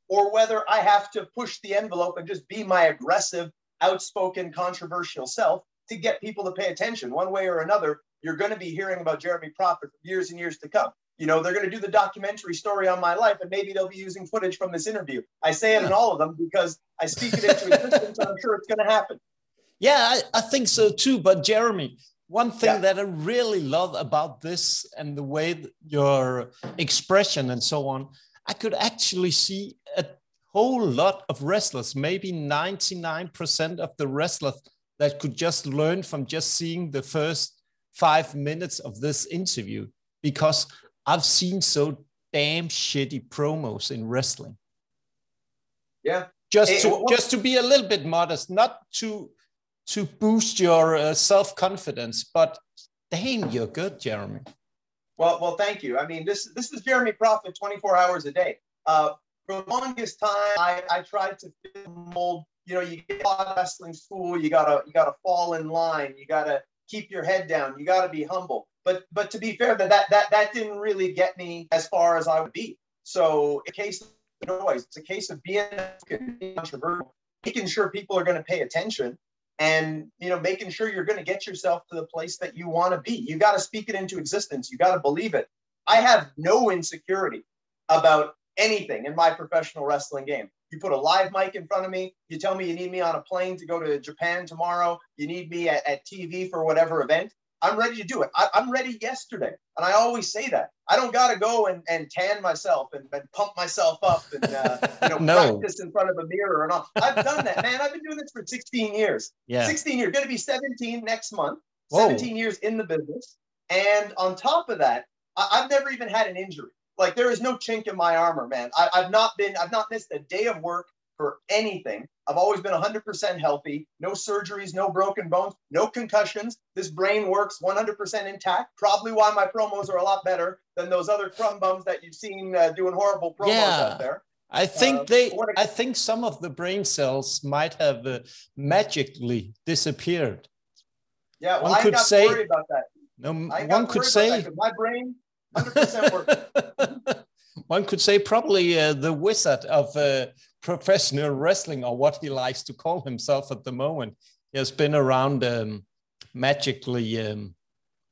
or whether I have to push the envelope and just be my aggressive, outspoken, controversial self to get people to pay attention. One way or another, you're going to be hearing about Jeremy Prophet for years and years to come. You know, they're going to do the documentary story on my life, and maybe they'll be using footage from this interview. I say it in all of them because I speak it into existence, and I'm sure it's going to happen. Yeah, I think so too. But Jeremy, one thing that I really love about this and the way your expression and so on, I could actually see a whole lot of wrestlers, maybe 99% of the wrestlers that could just learn from just seeing the first 5 minutes of this interview, because I've seen so damn shitty promos in wrestling. Yeah. Just to be a little bit modest, not to boost your self-confidence, but damn, you're good, Jeremy. Well, thank you. I mean, this is Jeremy Prophet 24 hours a day. For the longest time, I tried to fit the mold. You know, you get out of wrestling school, you gotta fall in line, you gotta keep your head down, you gotta be humble. But to be fair, that didn't really get me as far as I would be. So in case of noise, it's a case of being controversial, making sure people are going to pay attention, and making sure you're going to get yourself to the place that you want to be. You got to speak it into existence. You got to believe it. I have no insecurity about anything in my professional wrestling game. You put a live mic in front of me, you tell me you need me on a plane to go to Japan tomorrow, you need me at TV for whatever event, I'm ready to do it. I'm ready yesterday. And I always say that. I don't got to go and tan myself and pump myself up and practice in front of a mirror and all. I've done that, man. I've been doing this for 16 years. Yeah. 16 years. Going to be 17 next month. Whoa. 17 years in the business. And on top of that, I've never even had an injury. Like, there is no chink in my armor, man. I've not missed a day of work for anything. I've always been 100% healthy, no surgeries, no broken bones, no concussions. This brain works 100% intact. Probably why my promos are a lot better than those other crumb bums that you've seen doing horrible promos out there. I think I think some of the brain cells might have magically disappeared. Yeah, well, I ain't got to worry about that. No, one could say my brain 100% works. One could say probably the wizard of professional wrestling, or what he likes to call himself at the moment. He has been around magically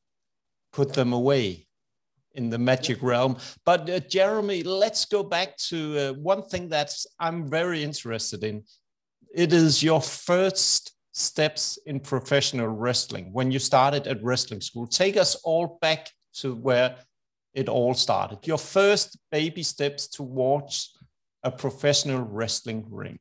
put them away in the magic realm. But Jeremy, let's go back to one thing that I'm very interested in. It is your first steps in professional wrestling when you started at wrestling school. Take us all back to where it all started. Your first baby steps towards a professional wrestling ring.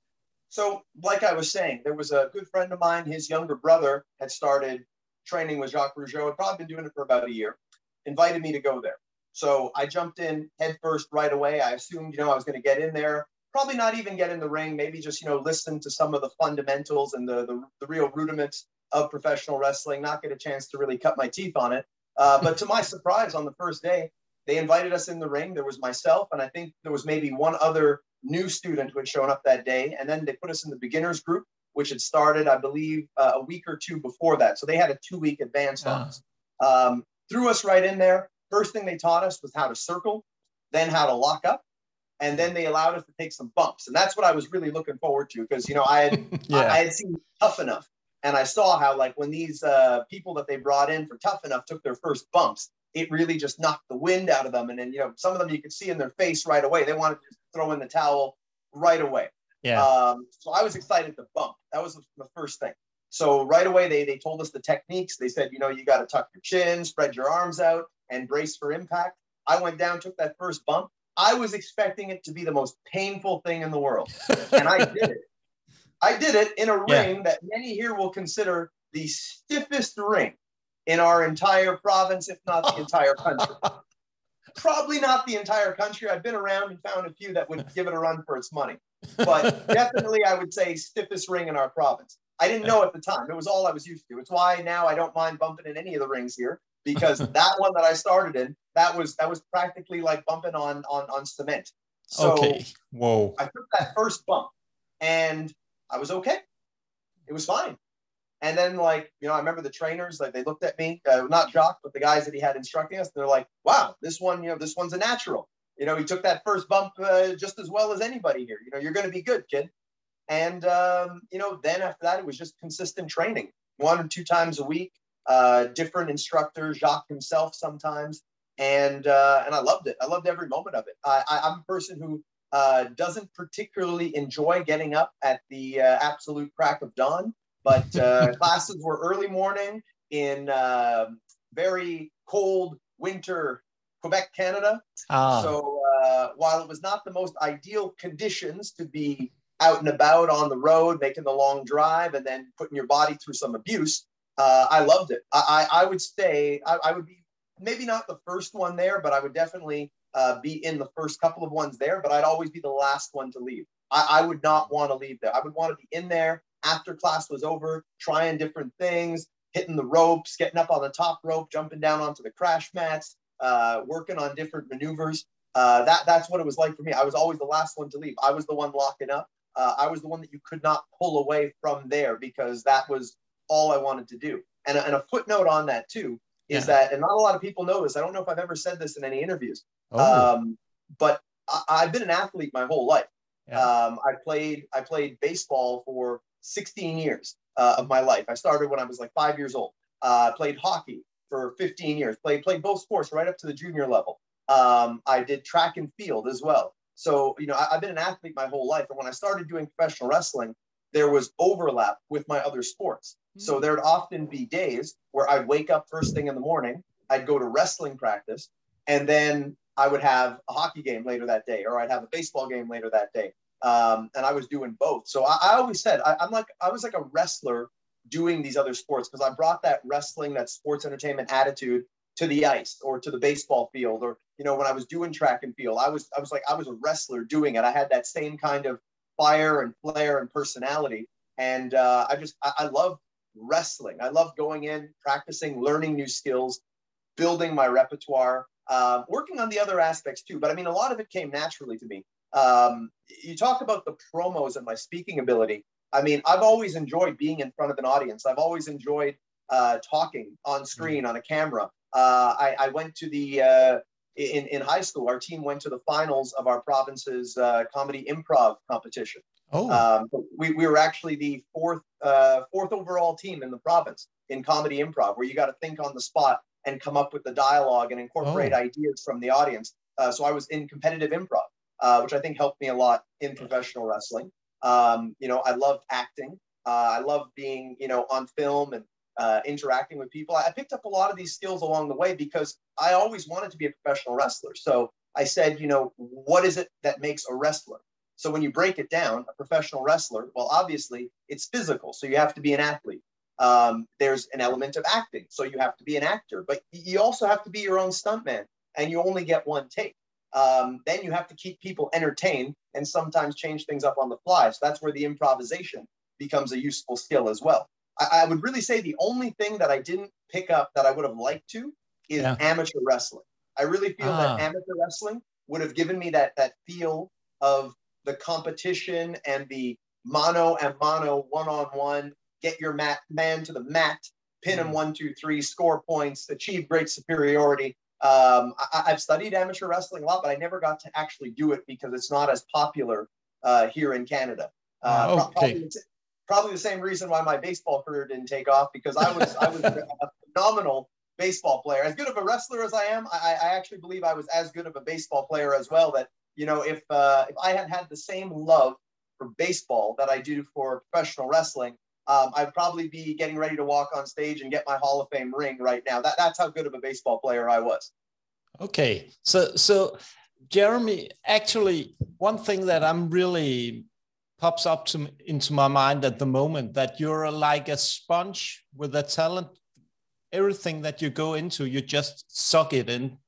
So, like I was saying, there was a good friend of mine, his younger brother had started training with Jacques Rougeau, had probably been doing it for about a year, invited me to go there. So I jumped in head first right away. I assumed, I was going to get in there, probably not even get in the ring, maybe just, listen to some of the fundamentals and the real rudiments of professional wrestling, not get a chance to really cut my teeth on it. But to my surprise, on the first day, they invited us in the ring. There was myself, and I think there was maybe one other new student who had shown up that day. And then they put us in the beginners group, which had started, I believe, a week or two before that. So they had a 2-week advance on us. Threw us right in there. First thing they taught us was how to circle, then how to lock up. And then they allowed us to take some bumps. And that's what I was really looking forward to, because, I had seen Tough Enough. And I saw how, like, when these people that they brought in for Tough Enough took their first bumps, it really just knocked the wind out of them. And then, some of them you could see in their face right away. They wanted to just throw in the towel right away. Yeah. So I was excited to bump. That was the first thing. So right away, they told us the techniques. They said, you got to tuck your chin, spread your arms out, and brace for impact. I went down, took that first bump. I was expecting it to be the most painful thing in the world. And I did it. I did it in a ring that many here will consider the stiffest ring in our entire province, if not the entire country. Probably not the entire country. I've been around and found a few that would give it a run for its money. But definitely, I would say stiffest ring in our province. I didn't know at the time. It was all I was used to. It's why now I don't mind bumping in any of the rings here, because that one that I started in, that was practically like bumping on cement. So okay. Whoa. I took that first bump and I was okay. It was fine. And then, I remember the trainers, they looked at me, not Jacques, but the guys that he had instructing us. They're like, wow, this one, this one's a natural. You know, he took that first bump just as well as anybody here. You know, you're going to be good, kid. And, you know, then after that, it was just consistent training, 1 or 2 times a week, different instructors, Jacques himself sometimes. And I loved it. I loved every moment of it. I'm a person who doesn't particularly enjoy getting up at the absolute crack of dawn, but classes were early morning in very cold winter Quebec, Canada. So while it was not the most ideal conditions to be out and about on the road, making the long drive and then putting your body through some abuse, I loved it. I would say I would be maybe not the first one there, but I would definitely be in the first couple of ones there, but I'd always be the last one to leave. I would not want to leave there. I would want to be in there after class was over, trying different things, hitting the ropes, getting up on the top rope, jumping down onto the crash mats, working on different maneuvers. That's what it was like for me. I was always the last one to leave. I was the one locking up. I was the one that you could not pull away from there because that was all I wanted to do. And a footnote on that too is that, and not a lot of people know this, I don't know if I've ever said this in any interviews, but I've been an athlete my whole life. I played baseball for 16 years of my life. I started when I was like 5 years old. Played hockey for 15 years. Played both sports right up to the junior level. I did track and field as well. So, you know, I've been an athlete my whole life. And when I started doing professional wrestling, there was overlap with my other sports. So there'd often be days where I'd wake up first thing in the morning, I'd go to wrestling practice, and then I would have a hockey game later that day, or I'd have a baseball game later that day. And I was doing both. So I always said, I was like a wrestler doing these other sports because I brought that wrestling, that sports entertainment attitude to the ice or to the baseball field. Or, you know, when I was doing track and field, I was a wrestler doing it. I had that same kind of fire and flair and personality. And I love wrestling. I love going in, practicing, learning new skills, building my repertoire, working on the other aspects too. But I mean, a lot of it came naturally to me. You talk about the promos and my speaking ability. I mean, I've always enjoyed being in front of an audience. I've always enjoyed talking on screen, on a camera. I went to the, in high school, our team went to the finals of our province's comedy improv competition. We were actually the fourth overall team in the province in comedy improv, where you got to think on the spot and come up with the dialogue and incorporate ideas from the audience. So I was in competitive improv, which I think helped me a lot in professional wrestling. You know, I loved acting. I loved being, you know, on film and interacting with people. I picked up a lot of these skills along the way because I always wanted to be a professional wrestler. So I said, you know, what is it that makes a wrestler? So when you break it down, a professional wrestler, well, obviously it's physical. So you have to be an athlete. There's an element of acting. So you have to be an actor, but you also have to be your own stuntman, and you only get one take. Then you have to keep people entertained and sometimes change things up on the fly. So that's where the improvisation becomes a useful skill as well. I would really say the only thing that I didn't pick up that I would have liked to is amateur wrestling. I really feel that amateur wrestling would have given me that feel of the competition and the mano a mano, one-on-one, get your man to the mat, pin him 1, 2, 3, score points, achieve great superiority. I've studied amateur wrestling a lot, but I never got to actually do it because it's not as popular here in Canada. Probably the same reason why my baseball career didn't take off, because I was a phenomenal baseball player. As good of a wrestler as I am, I actually believe I was as good of a baseball player as well. That, you know, if I had the same love for baseball that I do for professional wrestling, I'd probably be getting ready to walk on stage and get my Hall of Fame ring right now. That's how good of a baseball player I was. Okay, so Jeremy, actually, one thing that I'm really pops up into my mind at the moment, that you're like a sponge with a talent. Everything that you go into, you just suck it in.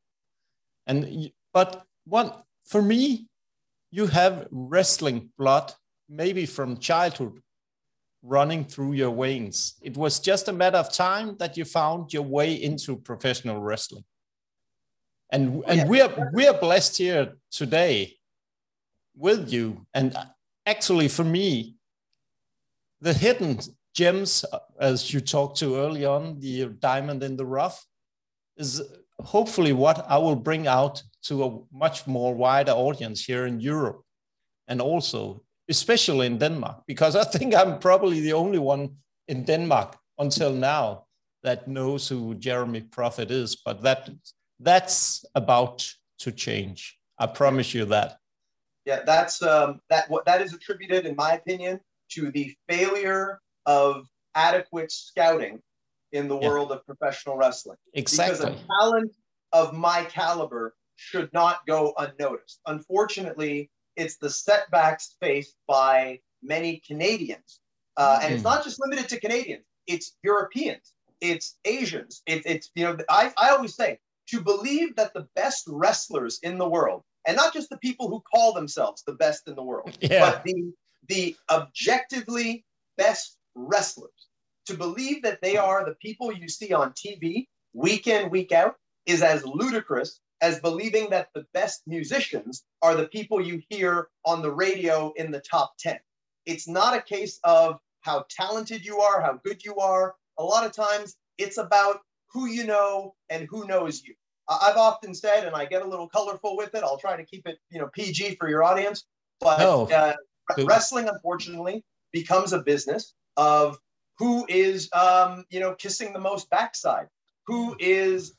But for me, you have wrestling blood, maybe from childhood, running through your veins. It was just a matter of time that you found your way into professional wrestling. And we are blessed here today with you. And actually, for me, the hidden gems, as you talked to early on, the diamond in the rough, is hopefully what I will bring out to a much more wider audience here in Europe, and also especially in Denmark, because I think I'm probably the only one in Denmark until now that knows who Jeremy Prophet is. But that's about to change. I promise you that. Yeah, that is attributed, in my opinion, to the failure of adequate scouting in the world of professional wrestling. Exactly. Because a talent of my caliber should not go unnoticed. Unfortunately, it's the setbacks faced by many Canadians. And it's not just limited to Canadians. It's Europeans. It's Asians. It's I always say, to believe that the best wrestlers in the world, and not just the people who call themselves the best in the world, but the objectively best wrestlers, to believe that they are the people you see on TV week in, week out, is as ludicrous as believing that the best musicians are the people you hear on the radio in the top 10. It's not a case of how talented you are, how good you are. A lot of times it's about who you know and who knows you. I've often said, and I get a little colorful with it, I'll try to keep it, PG for your audience, but wrestling, unfortunately, becomes a business of who is, kissing the most backside, who is,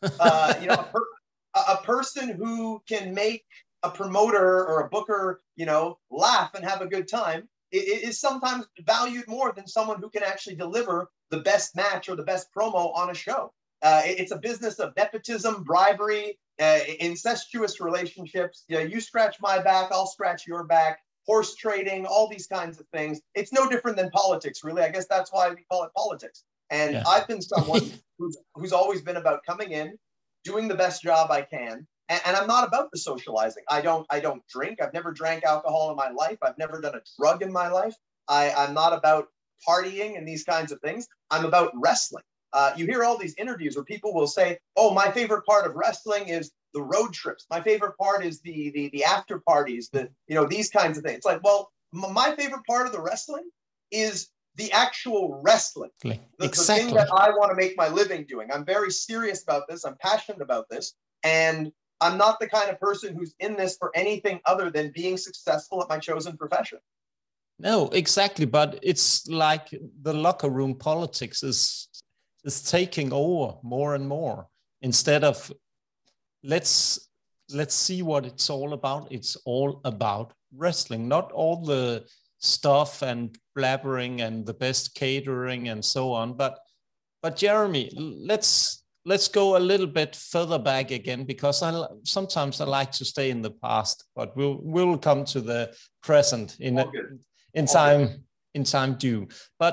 a person who can make a promoter or a booker, laugh and have a good time. It is sometimes valued more than someone who can actually deliver the best match or the best promo on a show. It's a business of nepotism, bribery, incestuous relationships. You scratch my back, I'll scratch your back, horse trading, all these kinds of things. It's no different than politics, really. I guess that's why we call it politics. And I've been someone who's always been about coming in, doing the best job I can. And I'm not about the socializing. I don't drink. I've never drank alcohol in my life. I've never done a drug in my life. I'm not about partying and these kinds of things. I'm about wrestling. You hear all these interviews where people will say, oh, my favorite part of wrestling is the road trips. My favorite part is the after parties, these kinds of things. It's like, well, my favorite part of the wrestling is the actual wrestling. The thing that I want to make my living doing. I'm very serious about this. I'm passionate about this. And I'm not the kind of person who's in this for anything other than being successful at my chosen profession. No, exactly. But it's like the locker room politics is taking over more and more, instead of let's see what it's all about. It's all about wrestling, not all the stuff and blabbering and the best catering and so on. But Jeremy, let's go a little bit further back again, because sometimes I like to stay in the past, but we'll come to the present in time due.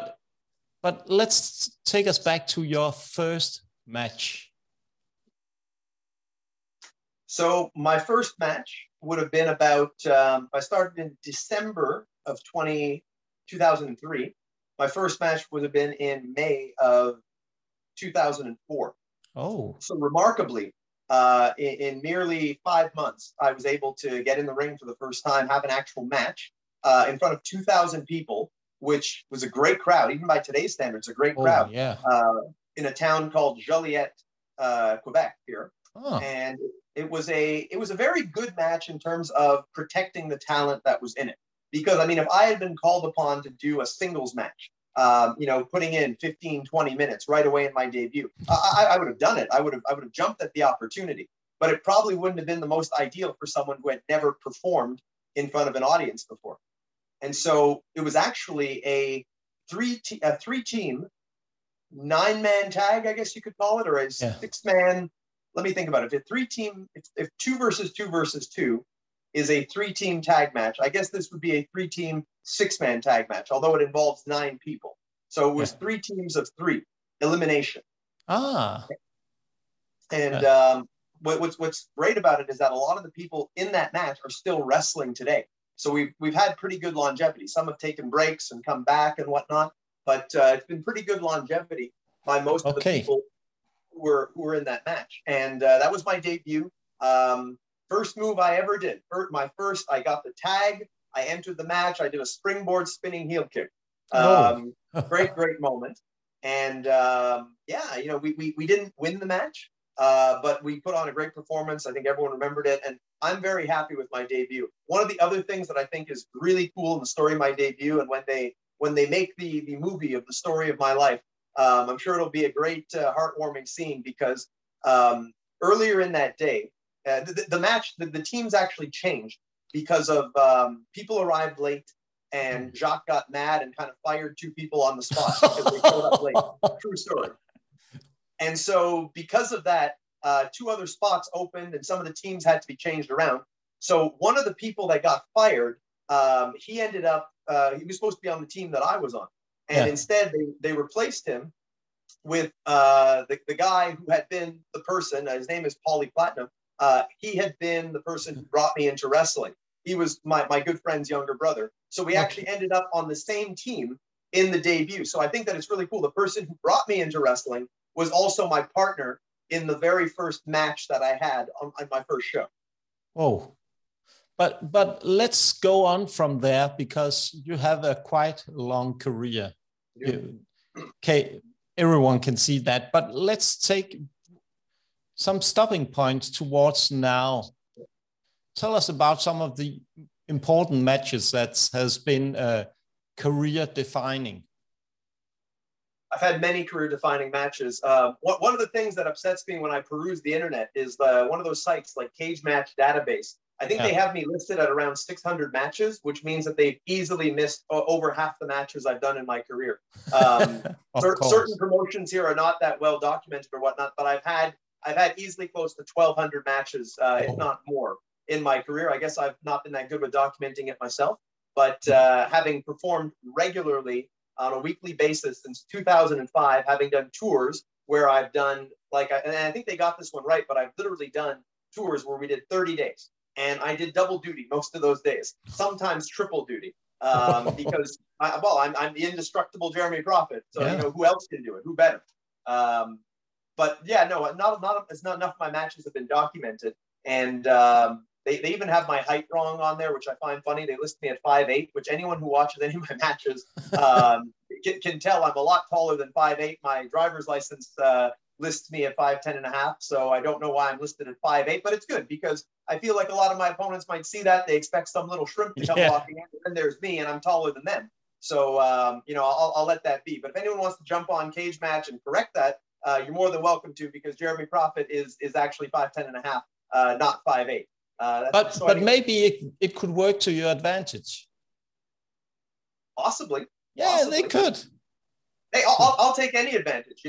But let's take us back to your first match. So my first match would have been about, I started in December of 2003. My first match would have been in May of 2004. Oh. So remarkably, in merely 5 months, I was able to get in the ring for the first time, have an actual match in front of 2,000 people, which was a great crowd, even by today's standards, a great crowd. Yeah. In a town called Joliet, Quebec here. Oh. And it was a very good match in terms of protecting the talent that was in it. Because, I mean, if I had been called upon to do a singles match, putting in 15, 20 minutes right away in my debut, I would have done it. I would have jumped at the opportunity. But it probably wouldn't have been the most ideal for someone who had never performed in front of an audience before. And so it was actually a three-team, 9-man tag, I guess you could call it, or a 6-man. Let me think about it. If 2 versus 2 versus 2 is a 3-team tag match, I guess this would be a 3-team 6-man tag match, although it involves 9 people. So it was 3 teams of 3, elimination. And what's great about it is that a lot of the people in that match are still wrestling today. So we've had pretty good longevity. Some have taken breaks and come back and whatnot, but it's been pretty good longevity by most of the people who were in that match. And that was my debut. First move I ever did. I got the tag. I entered the match. I did a springboard spinning heel kick. Great moment. And we didn't win the match. but we put on a great performance. I think everyone remembered it, and I'm very happy with my debut. One of the other things that I think is really cool in the story of my debut, and when they make the movie of the story of my life, I'm sure it'll be a great heartwarming scene, because earlier in that day, the match, the teams actually changed because of people arrived late, and Jacques got mad and kind of fired 2 people on the spot because they showed up late. True story. And so because of that, 2 other spots opened, and some of the teams had to be changed around. So one of the people that got fired, he ended up, he was supposed to be on the team that I was on. And instead they replaced him with the guy who had been the person, his name is Paulie Platinum. He had been the person who brought me into wrestling. He was my good friend's younger brother. So we actually ended up on the same team in the debut. So I think that it's really cool. The person who brought me into wrestling was also my partner in the very first match that I had on my first show. Oh, but let's go on from there, because you have a quite long career. Okay, everyone can see that, but let's take some stopping points towards now. Tell us about some of the important matches that has been career defining. I've had many career-defining matches. One of the things that upsets me when I peruse the internet is one of those sites like Cage Match Database. I think they have me listed at around 600 matches, which means that they've easily missed over half the matches I've done in my career. Certain promotions here are not that well documented or whatnot, but I've had easily close to 1,200 matches, if not more, in my career. I guess I've not been that good with documenting it myself, but having performed regularly on a weekly basis since 2005, having done tours where I've done, and I think they got this one right, but I've literally done tours where we did 30 days. And I did double duty most of those days, sometimes triple duty, because I'm the indestructible Jeremy Prophet. So, who else can do it? Who better? But yeah, no, it's not enough of my matches have been documented. And they even have my height wrong on there, which I find funny. They list me at 5'8", which anyone who watches any of my matches can tell I'm a lot taller than 5'8". My driver's license lists me at 5'10.5". So I don't know why I'm listed at 5'8", but it's good, because I feel like a lot of my opponents might see that. They expect some little shrimp to come walking in, and there's me, and I'm taller than them. So, I'll let that be. But if anyone wants to jump on Cage Match and correct that, you're more than welcome to, because Jeremy Prophet is actually 5'10.5", not 5'8". But maybe it could work to your advantage. Possibly. Yeah, they could. Hey, I'll take any advantage.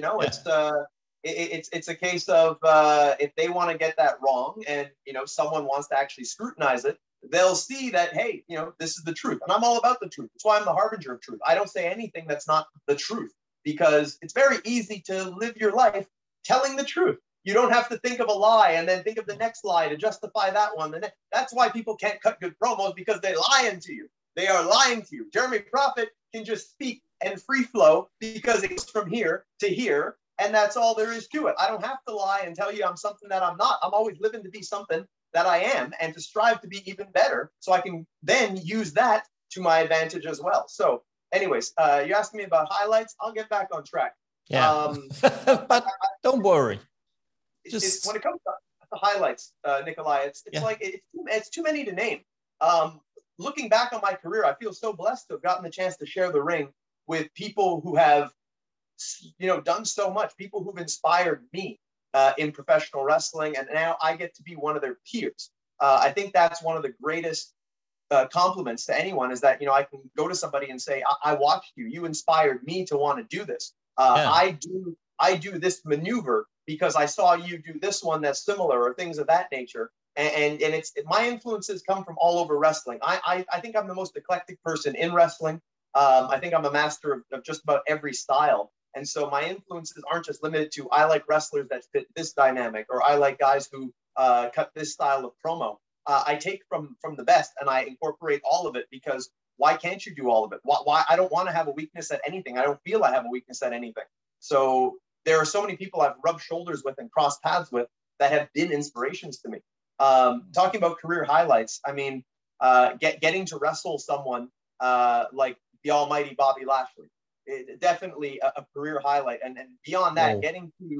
It's a case of if they want to get that wrong, and someone wants to actually scrutinize it, they'll see that, hey, this is the truth, and I'm all about the truth. That's why I'm the harbinger of truth. I don't say anything that's not the truth, because it's very easy to live your life telling the truth. You don't have to think of a lie and then think of the next lie to justify that one. That's why people can't cut good promos, because they're lying to you. They are lying to you. Jeremy Prophet can just speak and free flow, because it goes from here to here, and that's all there is to it. I don't have to lie and tell you I'm something that I'm not. I'm always living to be something that I am, and to strive to be even better, so I can then use that to my advantage as well. So anyways, you're asking me about highlights. I'll get back on track. Yeah. But don't worry. When it comes to the highlights, Nikolai, it's too many to name. Looking back on my career, I feel so blessed to have gotten the chance to share the ring with people who have, done so much, people who've inspired me in professional wrestling, and now I get to be one of their peers. I think that's one of the greatest compliments to anyone, is that, I can go to somebody and say, I watched you. You inspired me to want to do this. I do this maneuver because I saw you do this one that's similar, or things of that nature. And my influences come from all over wrestling. I think I'm the most eclectic person in wrestling. I think I'm a master of just about every style. And so my influences aren't just limited to, I like wrestlers that fit this dynamic, or I like guys who cut this style of promo. I take from the best, and I incorporate all of it, because why can't you do all of it? Why I don't want to have a weakness at anything. I don't feel I have a weakness at anything. So there are so many people I've rubbed shoulders with and crossed paths with that have been inspirations to me. Talking about career highlights, I mean, getting to wrestle someone like the almighty Bobby Lashley, definitely a career highlight. And beyond that, getting to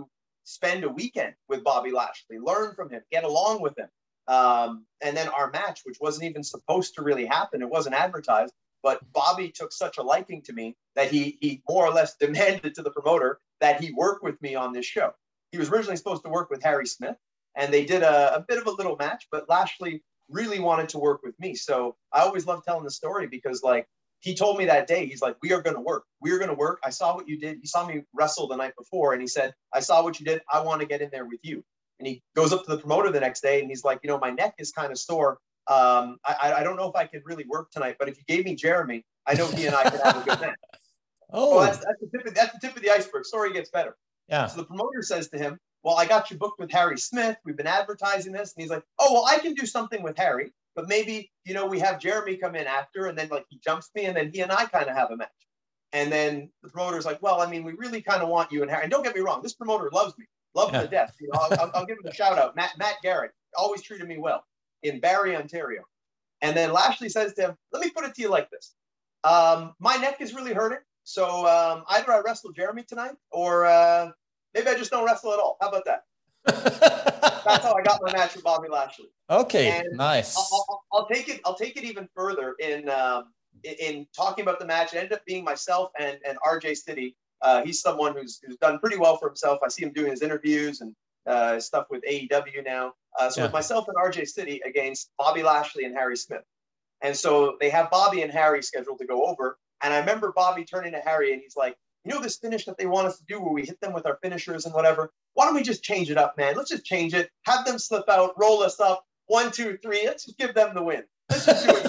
spend a weekend with Bobby Lashley, learn from him, get along with him. And then our match, which wasn't even supposed to really happen, it wasn't advertised, but Bobby took such a liking to me that he more or less demanded to the promoter that he work with me on this show. He was originally supposed to work with Harry Smith, and they did a bit of a little match, but Lashley really wanted to work with me. So I always love telling the story because, like, he told me that day, he's like, we are going to work. We are going to work. I saw what you did. He saw me wrestle the night before, and he said, I saw what you did. I want to get in there with you. And he goes up to the promoter the next day, and he's like, my neck is kind of sore. I don't know if I could really work tonight, but if you gave me Jeremy, I know he and I could have a good match. Oh, that's the tip of the iceberg. Story gets better. Yeah. So the promoter says to him, well, I got you booked with Harry Smith. We've been advertising this. And he's like, oh, well, I can do something with Harry, but maybe, we have Jeremy come in after, and then like he jumps me, and then he and I kind of have a match. And then the promoter's like, well, I mean, we really kind of want you and Harry. And don't get me wrong, this promoter loves me. Love him to death. I'll give him a shout out. Matt Garrett always treated me well in Barrie, Ontario. And then Lashley says to him, let me put it to you like this. My neck is really hurting. So either I wrestle Jeremy tonight, or maybe I just don't wrestle at all. How about that? That's how I got my match with Bobby Lashley. Okay, and nice. I'll take it even further in talking about the match. It ended up being myself and RJ City. He's someone who's done pretty well for himself. I see him doing his interviews and stuff with AEW now. So with myself and RJ City against Bobby Lashley and Harry Smith. And so they have Bobby and Harry scheduled to go over. And I remember Bobby turning to Harry, and he's like, this finish that they want us to do where we hit them with our finishers and whatever, why don't we just change it up, man? Let's just change it. Have them slip out, roll us up. 1, 2, 3. Let's just give them the win. Let's just do it.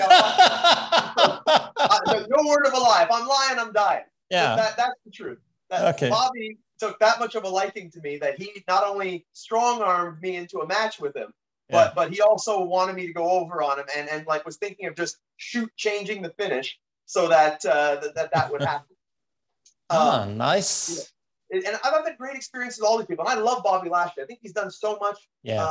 No word of a lie. If I'm lying, I'm dying. Yeah. That's the truth. Okay. Bobby took that much of a liking to me that he not only strong-armed me into a match with him, but he also wanted me to go over on him and like was thinking of just changing the finish so that that would happen. Nice. And I've had great experiences with all these people. And I love Bobby Lashley. I think he's done so much,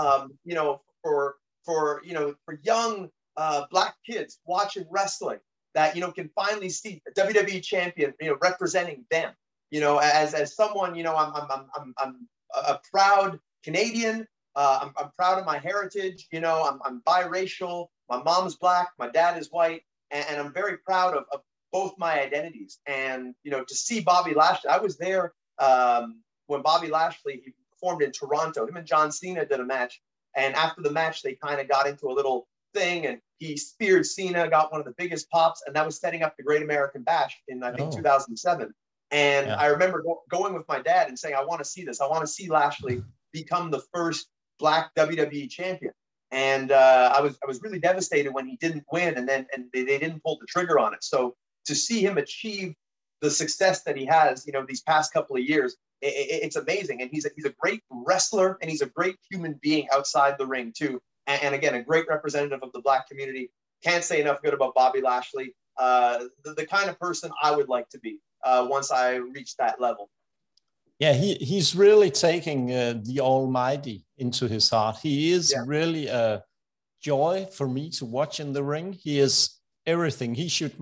for young Black kids watching wrestling that, can finally see a WWE champion, representing them, as someone, I'm a proud Canadian. I'm proud of my heritage. I'm biracial. My mom's Black. My dad is white. And I'm very proud of both my identities. And, to see Bobby Lashley, I was there when Bobby Lashley, he performed in Toronto. Him and John Cena did a match. And after the match, they kind of got into a little thing, and he speared Cena, got one of the biggest pops, and that was setting up the Great American Bash in, I think, 2007. And I remember going with my dad and saying, I want to see this. I want to see Lashley become the first Black WWE champion. And I was really devastated when he didn't win, and they didn't pull the trigger on it. So to see him achieve the success that he has, these past couple of years, it's amazing. And he's a great wrestler, and he's a great human being outside the ring too. And again, a great representative of the Black community. Can't say enough good about Bobby Lashley. The kind of person I would like to be once I reach that level. Yeah, he's really taking the Almighty into his heart. He is really a joy for me to watch in the ring. He is everything.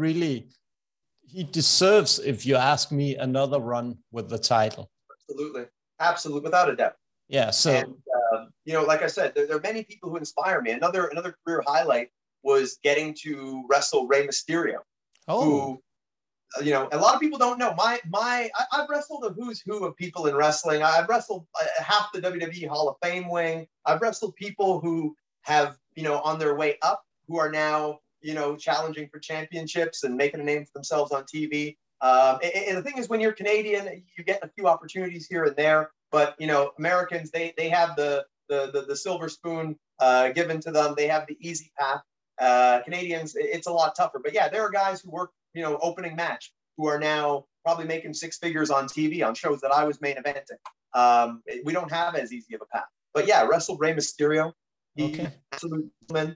He deserves, if you ask me, another run with the title. Absolutely, without a doubt. Yeah. So, and, like I said, there are many people who inspire me. Another career highlight was getting to wrestle Rey Mysterio. Who, a lot of people don't know. I've wrestled a who's who of people in wrestling. I've wrestled half the WWE Hall of Fame wing. I've wrestled people who have, on their way up, who are now, challenging for championships and making a name for themselves on TV. And the thing is, when you're Canadian, you get a few opportunities here and there. But Americans, they have the silver spoon given to them. They have the easy path. Canadians, it's a lot tougher. But yeah, there are guys who work, opening match, who are now probably making 6 figures on TV on shows that I was main eventing. We don't have as easy of a path. But yeah, wrestled Rey Mysterio. Absolute man.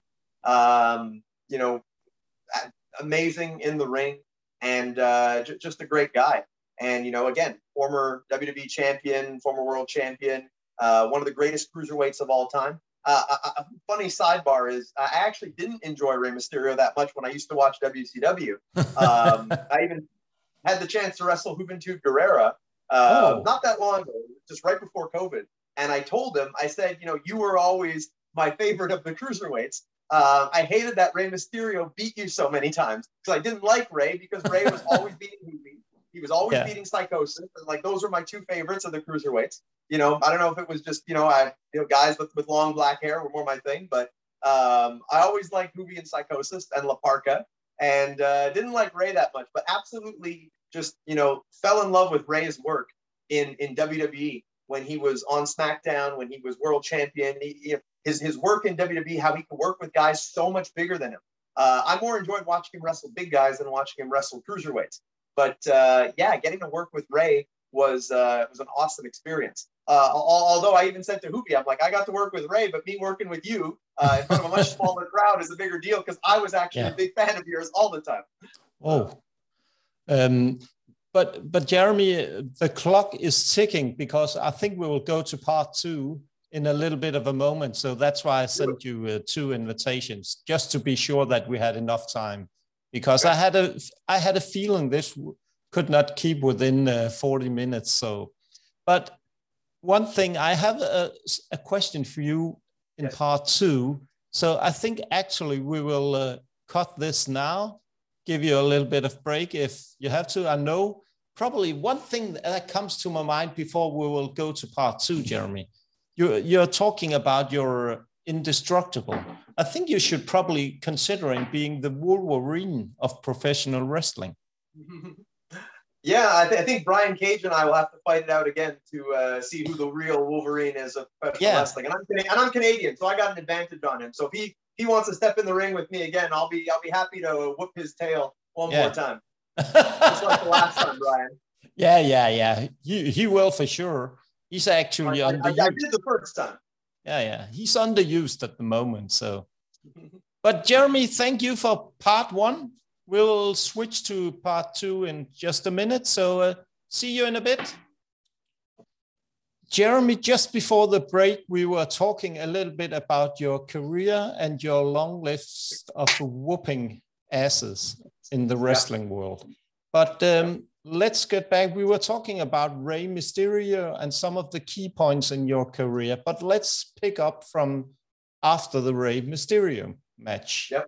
Amazing in the ring, and just a great guy. And again, former WWE champion, former world champion, one of the greatest cruiserweights of all time. A funny sidebar is I actually didn't enjoy Rey Mysterio that much when I used to watch WCW. I even had the chance to wrestle Juventud Guerrera not that long ago, just right before COVID. And I told him, I said, you were always my favorite of the cruiserweights. I hated that Rey Mysterio beat you so many times because I didn't like Rey because Rey was always beating Hoopy. He was always beating Psychosis. And like, those were my two favorites of the cruiserweights. I don't know if it was just, guys with long black hair were more my thing, but I always liked Hoopy and Psychosis and La Parca, and didn't like Rey that much, but absolutely just, fell in love with Rey's work in WWE when he was on SmackDown, when he was world champion. His work in WWE, how he could work with guys so much bigger than him. I more enjoyed watching him wrestle big guys than watching him wrestle cruiserweights. But getting to work with Rey was an awesome experience. Although I even said to Hoopy, I'm like, I got to work with Rey, but me working with you in front of a much smaller crowd is a bigger deal because I was actually a big fan of yours all the time. But Jeremy, the clock is ticking because I think we will go to part 2 in a little bit of a moment. So that's why I sent you 2 invitations, just to be sure that we had enough time. Because I had a feeling this could not keep within 40 minutes. So, but one thing, I have a question for you in part 2. So I think actually we will cut this now, give you a little bit of break if you have to. I know probably one thing that comes to my mind before we will go to part 2, Jeremy. You're talking about your indestructible. I think you should probably considering being the Wolverine of professional wrestling. Yeah, I think Brian Cage and I will have to fight it out again to see who the real Wolverine is of professional wrestling. And I'm Canadian, so I got an advantage on him. So if he wants to step in the ring with me again, I'll be happy to whoop his tail one more time. Just like the last time, Brian. Yeah. He will for sure. He's actually I did the first time. Yeah. He's underused at the moment. So, but Jeremy, thank you for part 1. We'll switch to part 2 in just a minute. So see you in a bit. Jeremy, just before the break, we were talking a little bit about your career and your long list of whooping asses in the wrestling world. But let's get back. We were talking about Rey Mysterio and some of the key points in your career, but let's pick up from after the Rey Mysterio match. Yep.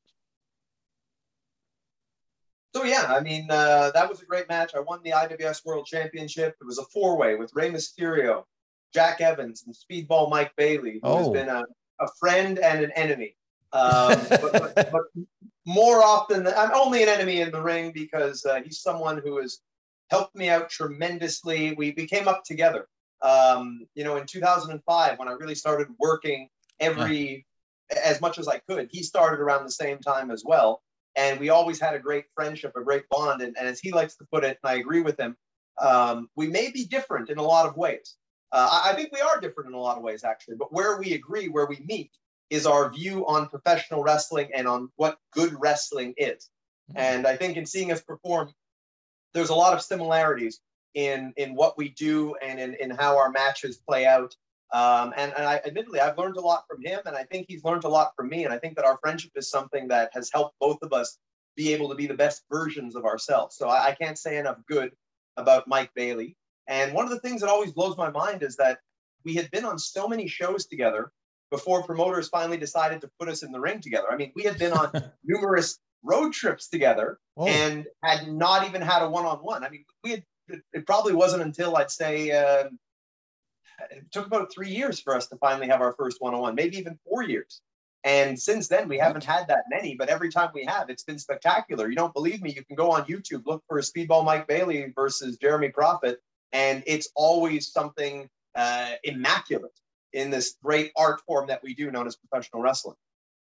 So I mean, that was a great match. I won the IWS World Championship. It was a 4-way with Rey Mysterio, Jack Evans, and Speedball Mike Bailey, who has been a friend and an enemy. But more often, I'm only an enemy in the ring because he's someone who has helped me out tremendously. We came up together. In 2005, when I really started working as much as I could, he started around the same time as well. And we always had a great friendship, a great bond. And as he likes to put it, and I agree with him, we may be different in a lot of ways. I think we are different in a lot of ways, actually. But where we agree, where we meet, is our view on professional wrestling and on what good wrestling is. And I think in seeing us perform, there's a lot of similarities in what we do and in how our matches play out. And I admittedly, I've learned a lot from him, and I think he's learned a lot from me. And I think that our friendship is something that has helped both of us be able to be the best versions of ourselves. So I can't say enough good about Mike Bailey. And one of the things that always blows my mind is that we had been on so many shows together before promoters finally decided to put us in the ring together. I mean, we had been on numerous road trips together and had not even had a one-on-one. I mean, it probably wasn't until I'd say it took about 3 years for us to finally have our first one-on-one, maybe even 4 years. And since then, we haven't had that many, but every time we have, it's been spectacular. You don't believe me? You can go on YouTube, look for Speedball Mike Bailey versus Jeremy Prophet, and it's always something immaculate in this great art form that we do known as professional wrestling.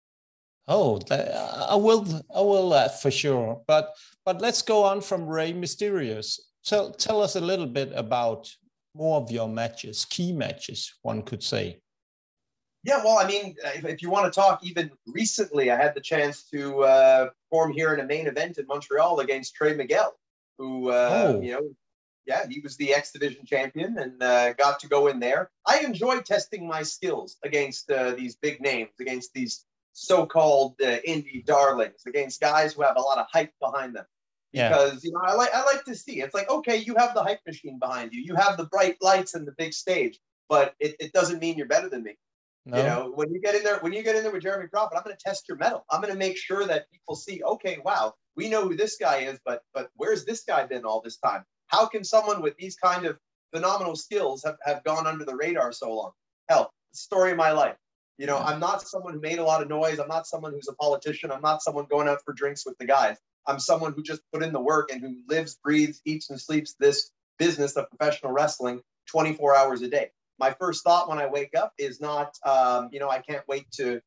I will for sure. But let's go on from Rey Mysterio. Tell us a little bit about more of your matches, key matches, one could say. Yeah, well, I mean, if you want to talk even recently, I had the chance to perform here in a main event in Montreal against Trey Miguel, who, he was the X Division champion and got to go in there. I enjoy testing my skills against these big names, against these so-called indie darlings, against guys who have a lot of hype behind them. Because I like to see, it's like, okay, you have the hype machine behind you, you have the bright lights and the big stage, but it doesn't mean you're better than me. No. You know, when you get in there with Jeremy Prophet, I'm going to test your mettle. I'm going to make sure that people see, okay, wow, we know who this guy is, but where's this guy been all this time? How can someone with these kind of phenomenal skills have gone under the radar so long? Hell, story of my life. You know, I'm not someone who made a lot of noise. I'm not someone who's a politician. I'm not someone going out for drinks with the guys. I'm someone who just put in the work and who lives, breathes, eats, and sleeps this business of professional wrestling 24 hours a day. My first thought when I wake up is not, I can't wait to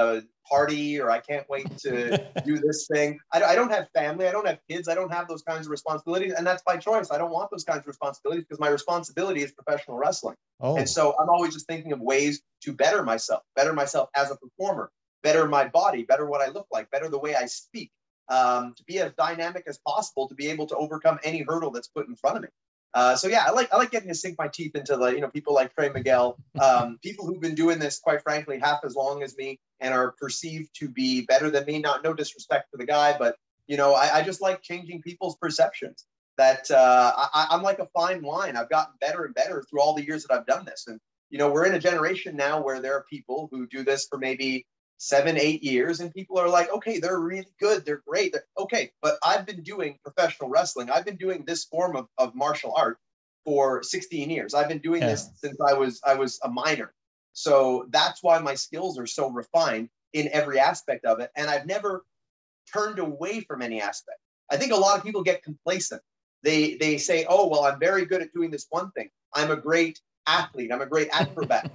party, or I can't wait to do this thing. I don't have family. I don't have kids. I don't have those kinds of responsibilities. And that's by choice. I don't want those kinds of responsibilities because my responsibility is professional wrestling. Oh. And so I'm always just thinking of ways to better myself as a performer, better my body, better what I look like, better the way I speak, to be as dynamic as possible, to be able to overcome any hurdle that's put in front of me. So yeah, I like getting to sink my teeth into people like Trey Miguel, people who've been doing this, quite frankly, half as long as me and are perceived to be better than me. No disrespect for the guy, but I just like changing people's perceptions. That I'm like a fine wine. I've gotten better and better through all the years that I've done this. And we're in a generation now where there are people who do this for maybe 7-8 years, and people are like, okay, they're really good, they're great, okay, but I've been doing professional wrestling, I've been doing this form of martial art for 16 years. I've been doing this since I was a minor. So that's why my skills are so refined in every aspect of it, and I've never turned away from any aspect. I think a lot of people get complacent. They say, oh, well, I'm very good at doing this one thing. I'm a great athlete, I'm a great acrobat,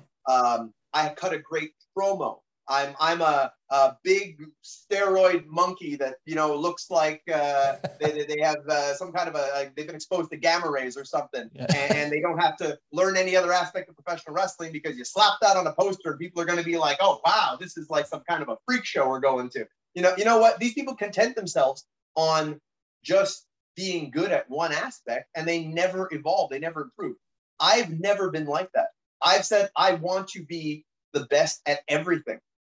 I cut a great promo, I'm a big steroid monkey that looks like they have some kind of they've been exposed to gamma rays or something, and they don't have to learn any other aspect of professional wrestling because you slap that on a poster and people are going to be like, oh wow, this is like some kind of a freak show we're going to. You know what? These people content themselves on just being good at one aspect, and they never evolve, they never improve. I've never been like that. I've said I want to be the best at everything.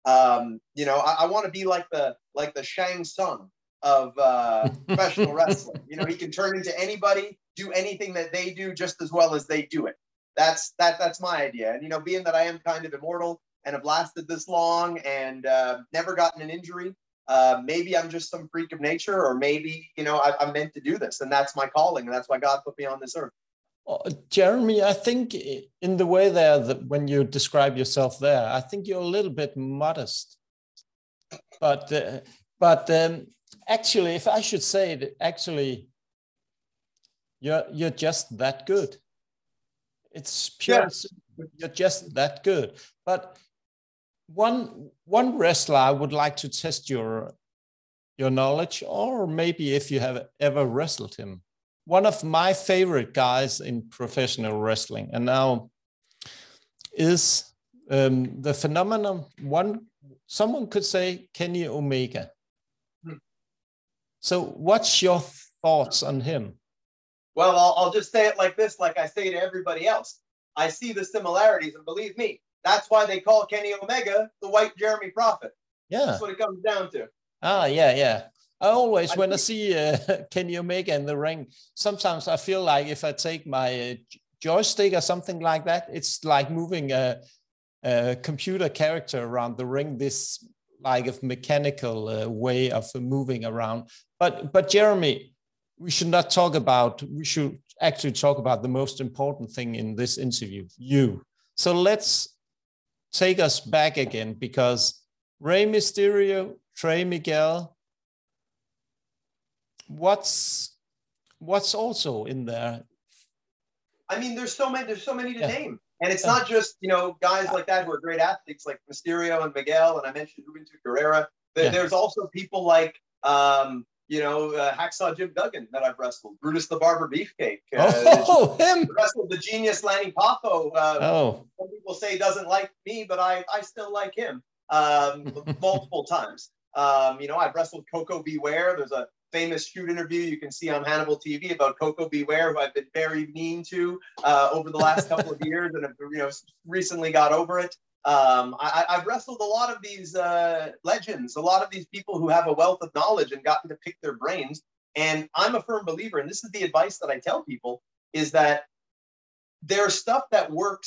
I want to be like the Shang Tsung of professional wrestling. He can turn into anybody, do anything that they do just as well as they do it. That's my idea. And being that I am kind of immortal and have lasted this long and never gotten an injury, maybe I'm just some freak of nature, or maybe I'm meant to do this, and that's my calling, and that's why God put me on this earth. Jeremy, I think in the way there that when you describe yourself there, I think you're a little bit modest. But actually, if I should say it, actually, you're just that good. It's pure. Yeah. You're just that good. But one wrestler I would like to test your knowledge, or maybe if you have ever wrestled him. One of my favorite guys in professional wrestling, and now is the phenomenon. Someone could say Kenny Omega. So, what's your thoughts on him? Well, I'll just say it like this, like I say to everybody else. I see the similarities, and believe me, that's why they call Kenny Omega the White Jeremy Prophet. Yeah, that's what it comes down to. Ah, yeah. I always, when I see Kenny Omega in the ring, sometimes I feel like if I take my joystick or something like that, it's like moving a computer character around the ring, this like a mechanical way of moving around. But Jeremy, we should actually talk about the most important thing in this interview, you. So let's take us back again, because Rey Mysterio, Trey Miguel, what's also in there? I mean, there's so many to name, and it's not just guys like that who are great athletes like Mysterio and Miguel, and I mentioned Juventud Guerrera. There's also people like Hacksaw Jim Duggan that I've wrestled, Brutus the Barber Beefcake. Him! Wrestled the genius Lanny Poffo. Some people say doesn't like me, but I still like him multiple times. I've wrestled Coco Beware. There's a famous shoot interview you can see on Hannibal TV about Coco Beware, who I've been very mean to over the last couple of years, and have recently got over it. I've wrestled a lot of these legends, a lot of these people who have a wealth of knowledge and gotten to pick their brains. And I'm a firm believer, and this is the advice that I tell people, is that there's stuff that works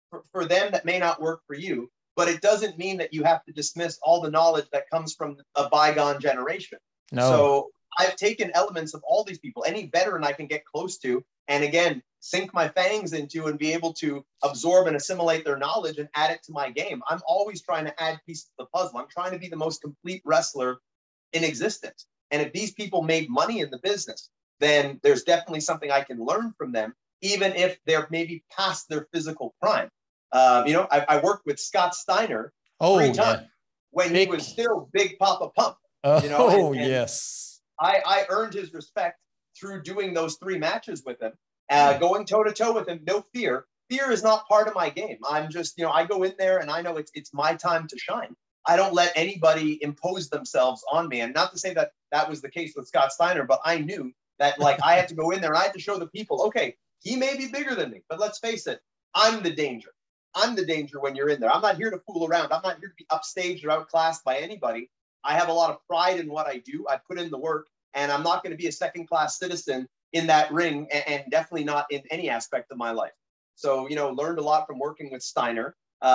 for them that may not work for you, but it doesn't mean that you have to dismiss all the knowledge that comes from a bygone generation. No. So I've taken elements of all these people, any veteran I can get close to, and again, sink my fangs into and be able to absorb and assimilate their knowledge and add it to my game. I'm always trying to add pieces of the puzzle. I'm trying to be the most complete wrestler in existence. And if these people made money in the business, then there's definitely something I can learn from them, even if they're maybe past their physical prime. I worked with Scott Steiner 3 times when he was still Big Papa Pump. And yes. I earned his respect through doing those 3 matches with him, going toe to toe with him. No fear. Fear is not part of my game. I'm just, I go in there and I know it's my time to shine. I don't let anybody impose themselves on me. And not to say that that was the case with Scott Steiner, but I knew that I had to go in there and I had to show the people, okay, he may be bigger than me, but let's face it, I'm the danger. I'm the danger when you're in there. I'm not here to fool around. I'm not here to be upstaged or outclassed by anybody. I have a lot of pride in what I do. I put in the work, and I'm not going to be a second-class citizen in that ring, and definitely not in any aspect of my life. So, learned a lot from working with Steiner.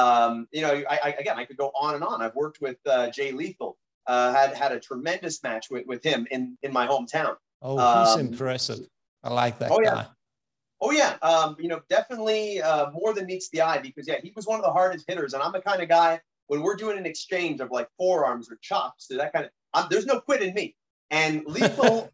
I could go on and on. I've worked with Jay Lethal. Had a tremendous match with him in my hometown. Oh, he's impressive. I like that guy. Oh, yeah. Definitely more than meets the eye because, he was one of the hardest hitters. And I'm the kind of guy, when we're doing an exchange of like forearms or chops, that kind of, there's no quit in me. And Lethal,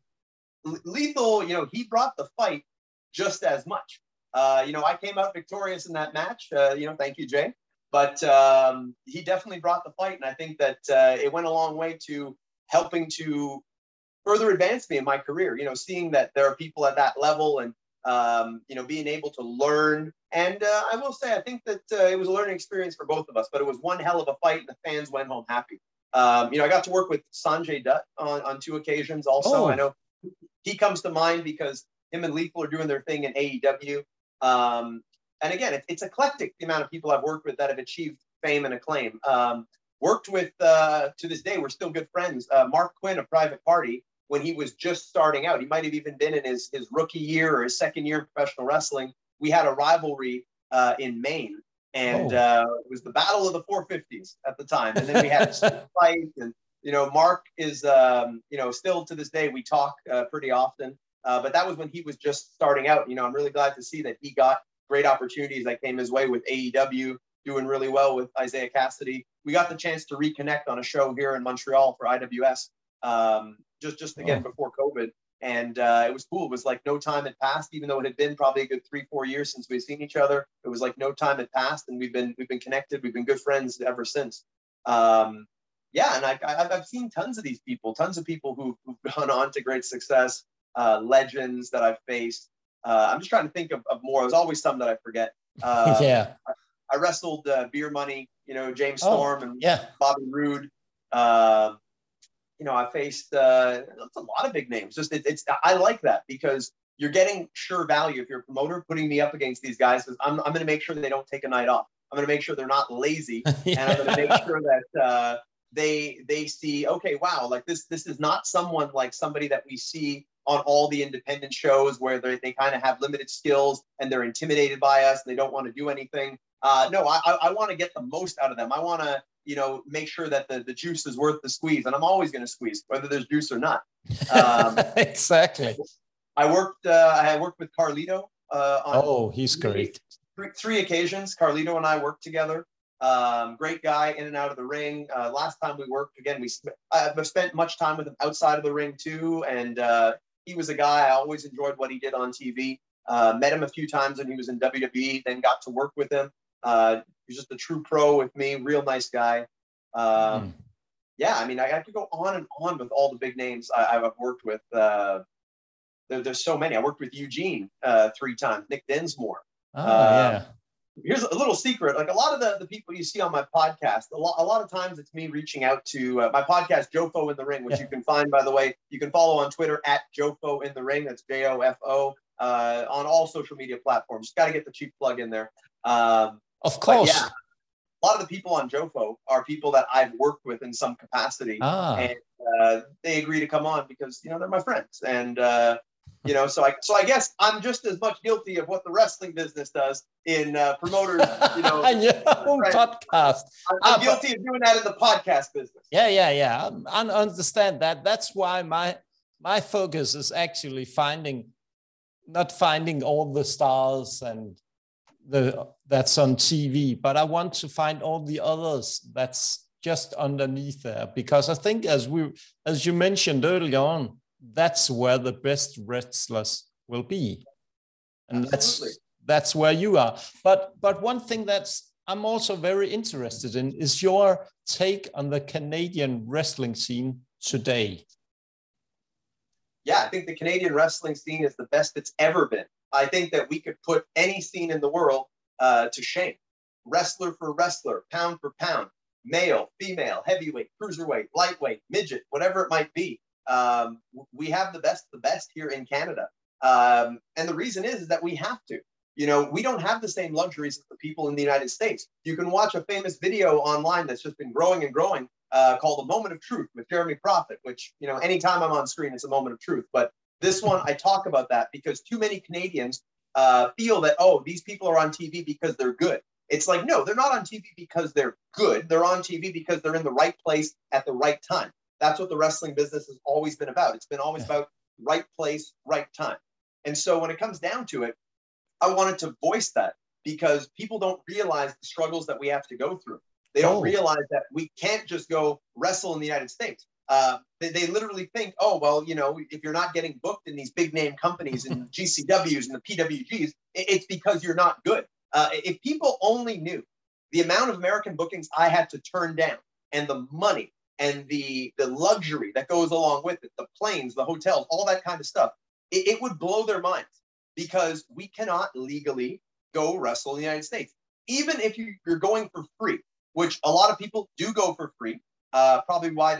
he brought the fight just as much. I came out victorious in that match. Thank you, Jay. But he definitely brought the fight. And I think that it went a long way to helping to further advance me in my career, seeing that there are people at that level and, being able to learn. And I will say, I think that it was a learning experience for both of us, but it was one hell of a fight and the fans went home happy. I got to work with Sanjay Dutt on 2 occasions also. I know he comes to mind because him and Lethal are doing their thing in AEW. And again, it's eclectic, the amount of people I've worked with that have achieved fame and acclaim. Worked with, to this day, we're still good friends, Mark Quinn of Private Party, when he was just starting out. He might have even been in his rookie year or his second year of professional wrestling. We had a rivalry in Maine, and it was the Battle of the 450s at the time. And then we had a fight, and Mark is still to this day we talk pretty often. But that was when he was just starting out. I'm really glad to see that he got great opportunities that came his way with AEW, doing really well with Isaiah Cassidy. We got the chance to reconnect on a show here in Montreal for IWS, just again before COVID. And it was cool. It was like no time had passed, even though it had been probably a good 3-4 years since we've seen each other. It was like no time had passed, and we've been connected. We've been good friends ever since. And I've seen tons of these people, tons of people who've gone on to great success, legends that I've faced. I'm just trying to think of more. There's always some that I forget. I wrestled Beer Money, James Storm and Bobby Roode. I faced it's a lot of big names. Just I like that because you're getting sure value if you're a promoter putting me up against these guys. Because I'm going to make sure they don't take a night off. I'm going to make sure they're not lazy, and I'm going to make sure that they see, okay, wow, like this is not someone like somebody that we see on all the independent shows where they kind of have limited skills and they're intimidated by us and they don't want to do anything. No, I want to get the most out of them. I want to, make sure that the juice is worth the squeeze. And I'm always going to squeeze, whether there's juice or not. Exactly. I had worked with Carlito. He's great. 3 occasions, Carlito and I worked together. Great guy in and out of the ring. Last time we worked, again, I've spent much time with him outside of the ring too. And he was a guy, I always enjoyed what he did on TV. Met him a few times when he was in WWE, then got to work with him. He's just a true pro with me, real nice guy. I could go on and on with all the big names I've worked with. There's so many. I worked with Eugene 3 times, Nick Dinsmore. Here's a little secret. Like a lot of the people you see on my podcast, a lot of times it's me reaching out to my podcast, Jofo in the Ring, which you can find, by the way. You can follow on Twitter at Jofo in the Ring. That's JOFO on all social media platforms. Just got to get the cheap plug in there. Of course. Yeah, a lot of the people on Jofo are people that I've worked with in some capacity. And they agree to come on because, they're my friends. And You know, so I guess I'm just as much guilty of what the wrestling business does in promoters, you know, podcast. I'm guilty of doing that in the podcast business. Yeah. I understand that. That's why my focus is actually not finding all the stars and that's on TV, but I want to find all the others that's just underneath there, because I think as you mentioned earlier on, that's where the best wrestlers will be, and that's where you are. But one thing I'm also very interested in is your take on the Canadian wrestling scene today. Yeah, I think the Canadian wrestling scene is the best it's ever been. I think that we could put any scene in the world to shame. Wrestler for wrestler, pound for pound, male, female, heavyweight, cruiserweight, lightweight, midget, whatever it might be. We have the best here in Canada. And the reason is that we have to. You know, we don't have the same luxuries as the people in the United States. You can watch a famous video online that's just been growing and growing called A Moment of Truth with Jeremy Prophet, which, you know, anytime I'm on screen, it's a moment of truth. But this one, I talk about that because too many Canadians feel that, oh, these people are on TV because they're good. It's like, no, they're not on TV because they're good. They're on TV because they're in the right place at the right time. That's what the wrestling business has always been about. It's been always about right place, right time. And so when it comes down to it, I wanted to voice that because people don't realize the struggles that we have to go through. They don't realize that we can't just go wrestle in the United States. They literally think, oh, well, you know, if you're not getting booked in these big name companies and GCWs and the PWGs, it's because you're not good. If people only knew the amount of American bookings I had to turn down and the money and the luxury that goes along with it, the planes, the hotels, all that kind of stuff, it would blow their minds because we cannot legally go wrestle in the United States. Even if you're going for free, which a lot of people do go for free, probably why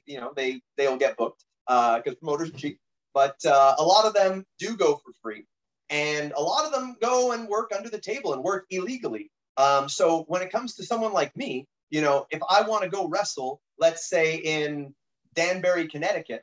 they'll get booked because promoters are cheap. But a lot of them do go for free. And a lot of them go and work under the table and work illegally. So when it comes to someone like me, you know, if I want to go wrestle, let's say in Danbury, Connecticut,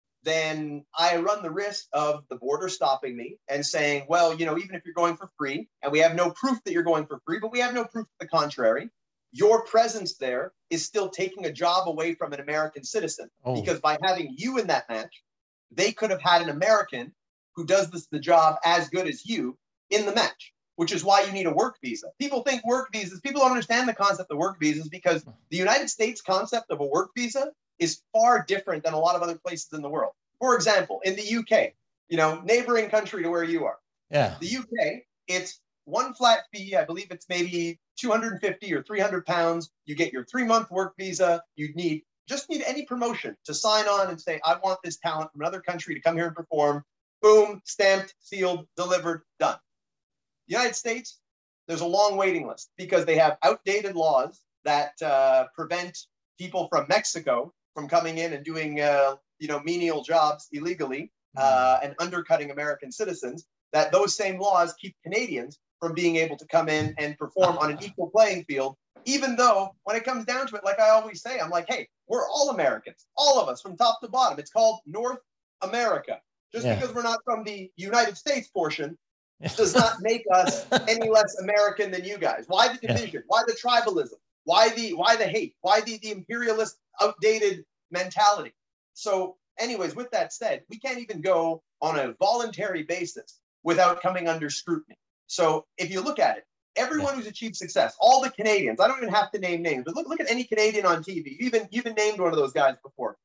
then I run the risk of the border stopping me and saying, well, you know, even if you're going for free and we have no proof that you're going for free, but we have no proof to the contrary, your presence there is still taking a job away from an American citizen. Because by having you in that match, they could have had an American who does the job as good as you in the match, which is why you need a work visa. People think work visas, people don't understand the concept of work visas because the United States concept of a work visa is far different than a lot of other places in the world. For example, in the UK, you know, neighboring country to where you are, the UK, it's one flat fee. I believe it's maybe 250 or 300 pounds. You get your 3-month work visa. You just need any promotion to sign on and say, I want this talent from another country to come here and perform. Boom, stamped, sealed, delivered, done. The United States, there's a long waiting list because they have outdated laws that prevent people from Mexico from coming in and doing, menial jobs illegally and undercutting American citizens. That those same laws keep Canadians from being able to come in and perform on an equal playing field, even though when it comes down to it, like I always say, I'm like, hey, we're all Americans, all of us from top to bottom. It's called North America. Just because we're not from the United States portion does not make us any less American than you guys. Why the division? Why the tribalism? Why the hate? Why the imperialist, outdated mentality? So anyways, with that said, we can't even go on a voluntary basis without coming under scrutiny. So if you look at it, everyone who's achieved success, all the Canadians, I don't even have to name names, but look at any Canadian on TV. You've even named one of those guys before.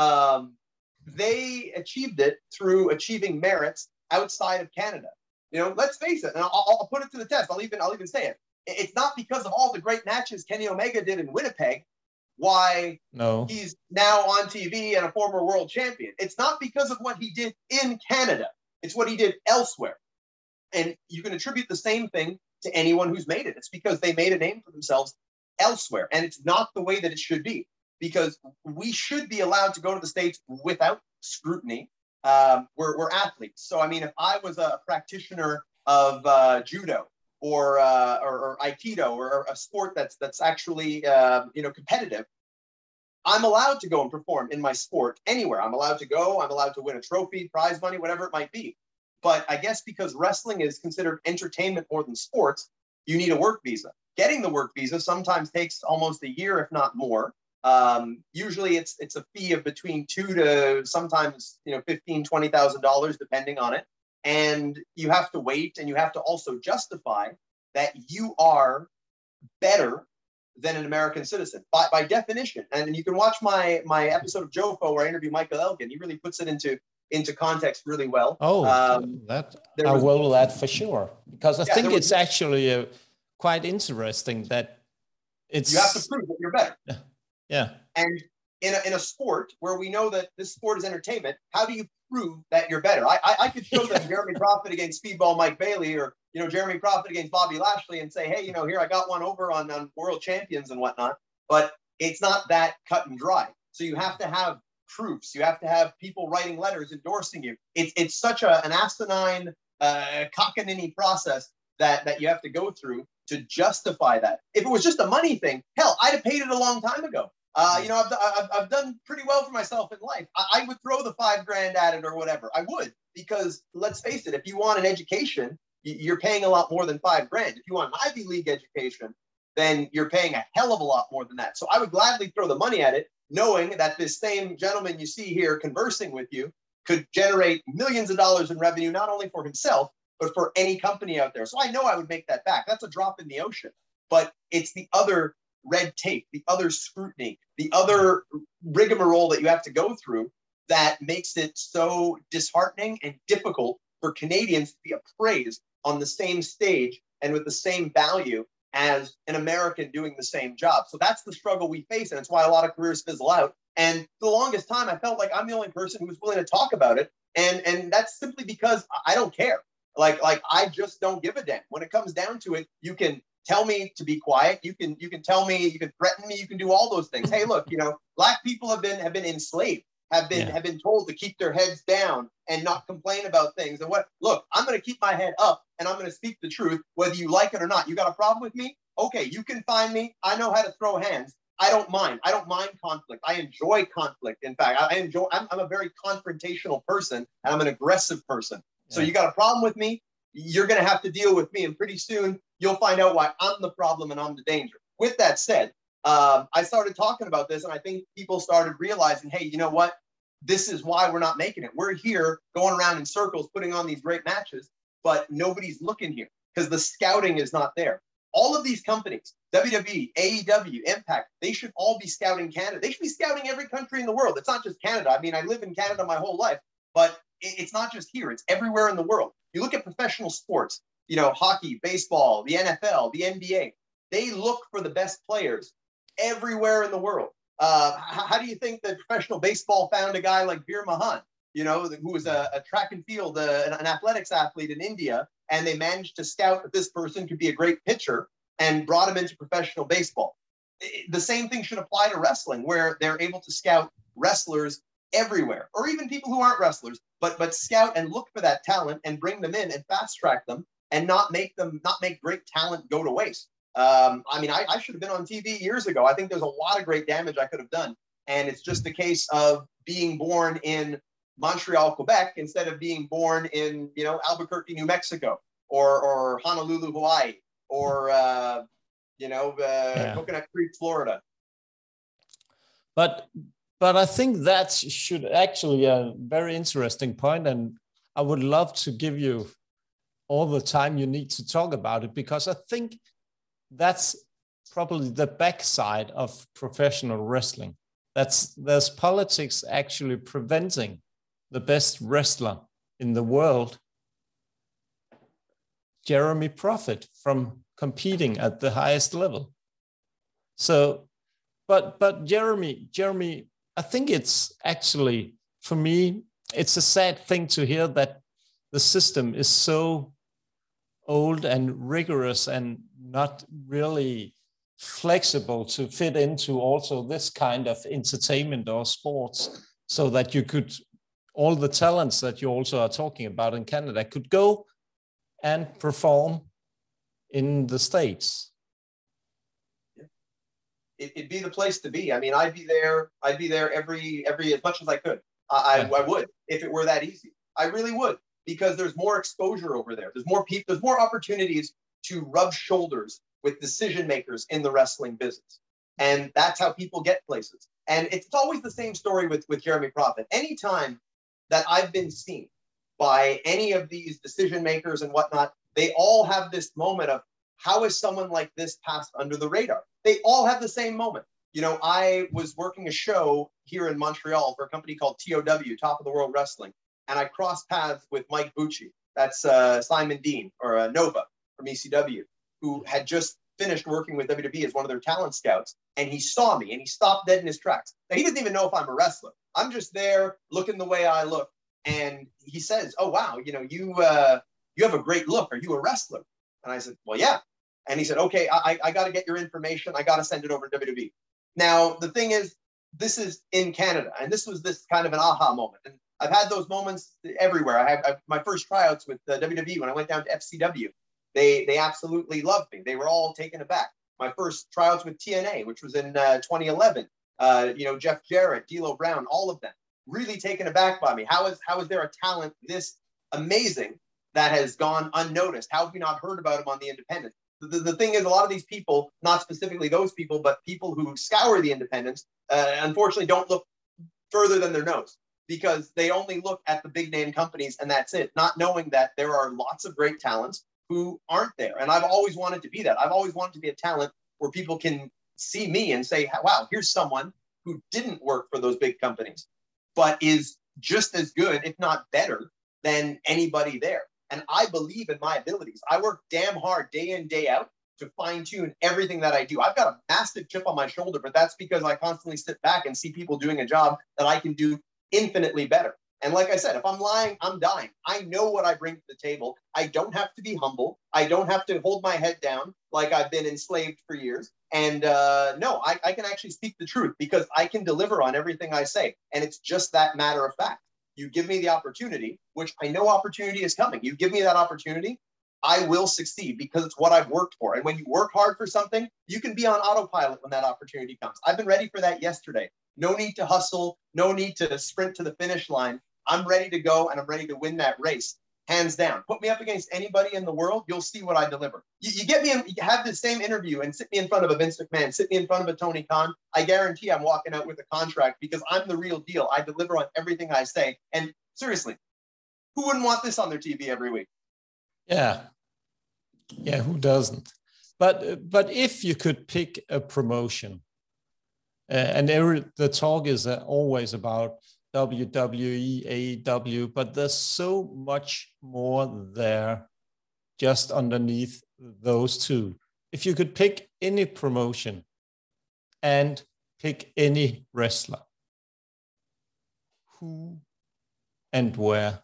They achieved it through achieving merits outside of Canada. You know, let's face it, and I'll put it to the test. I'll even say it. It's not because of all the great matches Kenny Omega did in Winnipeg why he's now on TV and a former world champion. It's not because of what he did in Canada. It's what he did elsewhere. And you can attribute the same thing to anyone who's made it. It's because they made a name for themselves elsewhere. And it's not the way that it should be, because we should be allowed to go to the States without scrutiny. We're athletes. So, I mean, if I was a practitioner of judo or Aikido or a sport that's actually, competitive, I'm allowed to go and perform in my sport anywhere. I'm allowed to go. I'm allowed to win a trophy, prize money, whatever it might be. But I guess because wrestling is considered entertainment more than sports, you need a work visa. Getting the work visa sometimes takes almost a year, if not more. Usually it's a fee of between $2,000 to sometimes, $15,000, $20,000, depending on it. And you have to wait, and you have to also justify that you are better than an American citizen by definition. And you can watch my episode of JoFo where I interview Michael Elgin. He really puts it into context really well. That I will that for sure, because I think it's actually quite interesting that it's you have to prove that you're better. Yeah. And in a sport where we know that this sport is entertainment, how do you prove that you're better? I could show them Jeremy Prophet against Speedball Mike Bailey, or Jeremy Prophet against Bobby Lashley, and say, hey, here I got one over on world champions and whatnot. But it's not that cut and dry. So you have to have proofs. You have to have people writing letters endorsing you. It's such an asinine cockamamie process that you have to go through to justify that. If it was just a money thing, hell, I'd have paid it a long time ago. I've done pretty well for myself in life. I would throw the $5,000 at it or whatever. I would, because let's face it, if you want an education, you're paying a lot more than $5,000. If you want an Ivy League education, then you're paying a hell of a lot more than that. So I would gladly throw the money at it, knowing that this same gentleman you see here conversing with you could generate millions of dollars in revenue, not only for himself, but for any company out there. So I know I would make that back. That's a drop in the ocean. But it's the other red tape, the other scrutiny, the other rigmarole that you have to go through that makes it so disheartening and difficult for Canadians to be appraised on the same stage and with the same value as an American doing the same job. So that's the struggle we face, and it's why a lot of careers fizzle out. And for the longest time, I felt like I'm the only person who was willing to talk about it. And that's simply because I don't care. Like I just don't give a damn. When it comes down to it, you can tell me to be quiet. You can tell me, you can threaten me, you can do all those things. Hey, look, Black people have been enslaved, have been told to keep their heads down and not complain about things. And look, I'm going to keep my head up and I'm going to speak the truth, whether you like it or not. You got a problem with me? Okay, you can find me. I know how to throw hands. I don't mind. I don't mind conflict. I enjoy conflict. In fact, I'm a very confrontational person, and I'm an aggressive person. So you got a problem with me, you're going to have to deal with me. And pretty soon you'll find out why I'm the problem and I'm the danger. With that said, I started talking about this, and I think people started realizing, hey, you know what? This is why we're not making it. We're here going around in circles, putting on these great matches, but nobody's looking here because the scouting is not there. All of these companies, WWE, AEW, Impact, they should all be scouting Canada. They should be scouting every country in the world. It's not just Canada. I mean, I live in Canada my whole life, but it's not just here. It's everywhere in the world. You look at professional sports, hockey, baseball, the NFL, the NBA. They look for the best players everywhere in the world. How do you think that professional baseball found a guy like Veer Mahan, who was a track and field, an athletics athlete in India, and they managed to scout that this person could be a great pitcher and brought him into professional baseball. The same thing should apply to wrestling, where they're able to scout wrestlers everywhere, or even people who aren't wrestlers, but scout and look for that talent and bring them in and fast track them and not make great talent go to waste. I should have been on TV years ago. I think there's a lot of great damage I could have done. And it's just a case of being born in Montreal, Quebec, instead of being born in, Albuquerque, New Mexico, or Honolulu, Hawaii, or, Coconut Creek, Florida. But I think that should actually a very interesting point, and I would love to give you all the time you need to talk about it, because I think that's probably the backside of professional wrestling. There's politics actually preventing the best wrestler in the world, Jeremy Prophet, from competing at the highest level. So, but Jeremy, I think it's actually, for me, it's a sad thing to hear that the system is so old and rigorous and not really flexible to fit into also this kind of entertainment or sports, so that you could, all the talents that you also are talking about in Canada could go and perform in the States. it'd be the place to be. I mean, I'd be there every as much as I could. I would, if it were that easy. I really would, because there's more exposure over there. There's more people, there's more opportunities to rub shoulders with decision makers in the wrestling business. And that's how people get places. And it's always the same story with Jeremy Prophet. Anytime that I've been seen by any of these decision makers and whatnot, they all have this moment of, how is someone like this passed under the radar? They all have the same moment. You know, I was working a show here in Montreal for a company called TOW, Top of the World Wrestling, and I crossed paths with Mike Bucci. That's Simon Dean, or Nova from ECW, who had just finished working with WWE as one of their talent scouts. And he saw me and he stopped dead in his tracks. Now, he doesn't even know if I'm a wrestler. I'm just there looking the way I look. And he says, oh, wow, you know, you have a great look. Are you a wrestler? And I said, well, yeah. And he said, okay, I got to get your information. I got to send it over to WWE. Now, the thing is, this is in Canada. And this was this kind of an aha moment. And I've had those moments everywhere. I had my first tryouts with WWE when I went down to FCW. They absolutely loved me. They were all taken aback. My first tryouts with TNA, which was in 2011, you know, Jeff Jarrett, D'Lo Brown, all of them really taken aback by me. How is there a talent this amazing that has gone unnoticed? How have we not heard about him on the independents? The thing is, a lot of these people, not specifically those people, but people who scour the independents, unfortunately don't look further than their nose, because they only look at the big name companies and that's it, not knowing that there are lots of great talents who aren't there. And I've always wanted to be that. I've always wanted to be a talent where people can see me and say, wow, here's someone who didn't work for those big companies, but is just as good, if not better, than anybody there. And I believe in my abilities. I work damn hard day in, day out to fine tune everything that I do. I've got a massive chip on my shoulder, but that's because I constantly sit back and see people doing a job that I can do infinitely better. And like I said, if I'm lying, I'm dying. I know what I bring to the table. I don't have to be humble. I don't have to hold my head down like I've been enslaved for years. And no, I can actually speak the truth because I can deliver on everything I say. And it's just that matter of fact. You give me the opportunity, which I know opportunity is coming. You give me that opportunity, I will succeed because it's what I've worked for. And when you work hard for something, you can be on autopilot when that opportunity comes. I've been ready for that yesterday. No need to hustle. No need to sprint to the finish line. I'm ready to go and I'm ready to win that race. Hands down. Put me up against anybody in the world, you'll see what I deliver. You get me, you have the same interview and sit me in front of a Vince McMahon, sit me in front of a Tony Khan. I guarantee I'm walking out with a contract because I'm the real deal. I deliver on everything I say. And seriously, who wouldn't want this on their TV every week? Yeah. Yeah, who doesn't? But if you could pick a promotion, and the talk is always about WWE, AEW, but there's so much more there just underneath those two. If you could pick any promotion and pick any wrestler, who and where?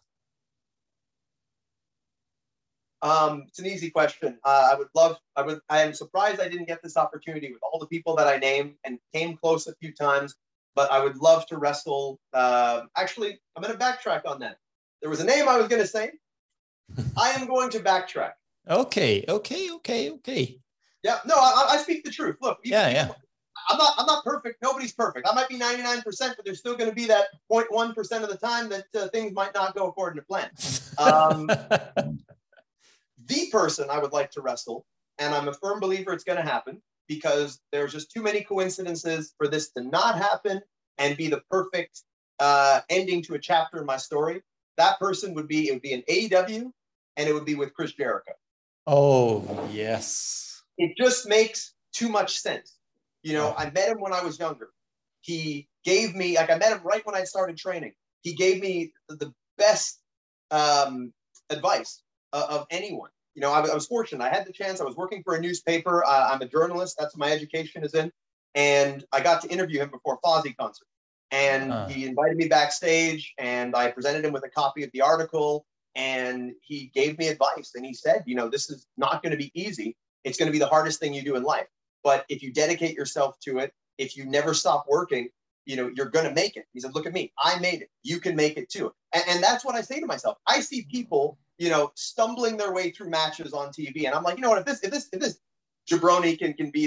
It's an easy question. I am surprised I didn't get this opportunity with all the people that I named and came close a few times. But I would love to wrestle. Actually, I'm going to backtrack on that. There was a name I was going to say. I am going to backtrack. Okay. Yeah, no, I speak the truth. Look, yeah. I'm not perfect. Nobody's perfect. I might be 99%, but there's still going to be that 0.1% of the time that things might not go according to plan. The person I would like to wrestle, and I'm a firm believer it's going to happen, because there's just too many coincidences for this to not happen and be the perfect ending to a chapter in my story. That person would be an AEW, and it would be with Chris Jericho. Oh, yes. It just makes too much sense. You know, I met him when I was younger. He gave me, I met him right when I started training. He gave me the best advice of anyone. You know, I was fortunate. I had the chance. I was working for a newspaper. I'm a journalist. That's what my education is in. And I got to interview him before a Fozzy concert. And he invited me backstage, and I presented him with a copy of the article. And he gave me advice. And he said, you know, this is not going to be easy. It's going to be the hardest thing you do in life. But if you dedicate yourself to it, if you never stop working, you know, you're going to make it. He said, look at me. I made it. You can make it too. And that's what I say to myself. I see people, you know, stumbling their way through matches on TV. And I'm like, you know what, if this jabroni can be there,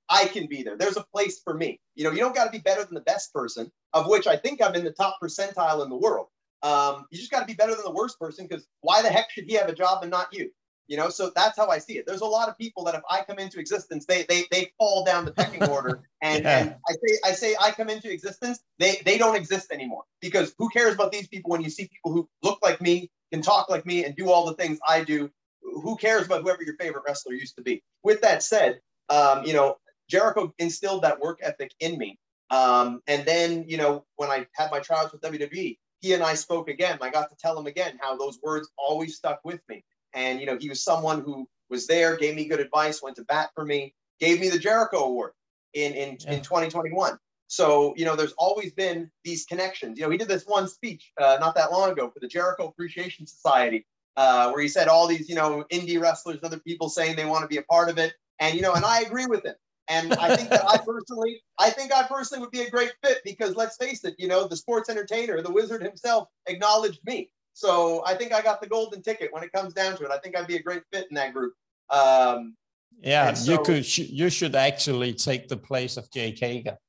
I can be there. There's a place for me. You know, you don't got to be better than the best person, of which I think I'm in the top percentile in the world. You just got to be better than the worst person, because why the heck should he have a job and not you? You know, so that's how I see it. There's a lot of people that if I come into existence, they fall down the pecking order. And Yeah. and I say I come into existence, they don't exist anymore, because who cares about these people when you see people who look like me, can talk like me, and do all the things I do? Who cares about whoever your favorite wrestler used to be? With that said, you know, Jericho instilled that work ethic in me. And then, you know, when I had my tryouts with WWE, he and I spoke again. I got to tell him again how those words always stuck with me. And, you know, he was someone who was there, gave me good advice, went to bat for me, gave me the Jericho Award in 2021. So, you know, there's always been these connections. You know, he did this one speech not that long ago for the Jericho Appreciation Society, where he said all these, you know, indie wrestlers and other people saying they want to be a part of it. And, you know, and I agree with him. And I think that I personally would be a great fit, because let's face it, you know, the sports entertainer, the wizard himself, acknowledged me. So I think I got the golden ticket when it comes down to it. I think I'd be a great fit in that group. Yeah, so, you should actually take the place of Jake Hager.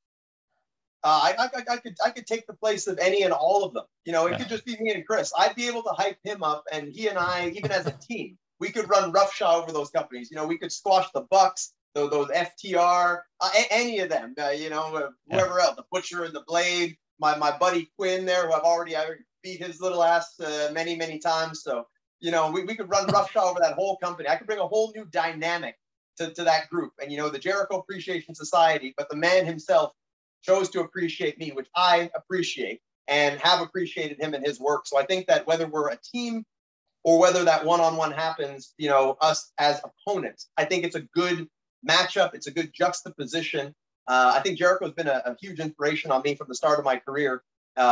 I could take the place of any and all of them. You know, it could just be me and Chris. I'd be able to hype him up, and he and I, even as a team, we could run roughshod over those companies. You know, we could squash the Bucks, those FTR, any of them. You know, whoever else, the Butcher and the Blade. My buddy Quinn there, who I beat his little ass many times. So, you know, we could run roughshod over that whole company. I could bring a whole new dynamic to that group. And, you know, the Jericho Appreciation Society, but the man himself chose to appreciate me, which I appreciate and have appreciated him and his work. So I think that whether we're a team or whether that one-on-one happens, you know, us as opponents, I think it's a good matchup. It's a good juxtaposition. I think Jericho's been a huge inspiration on me from the start of my career.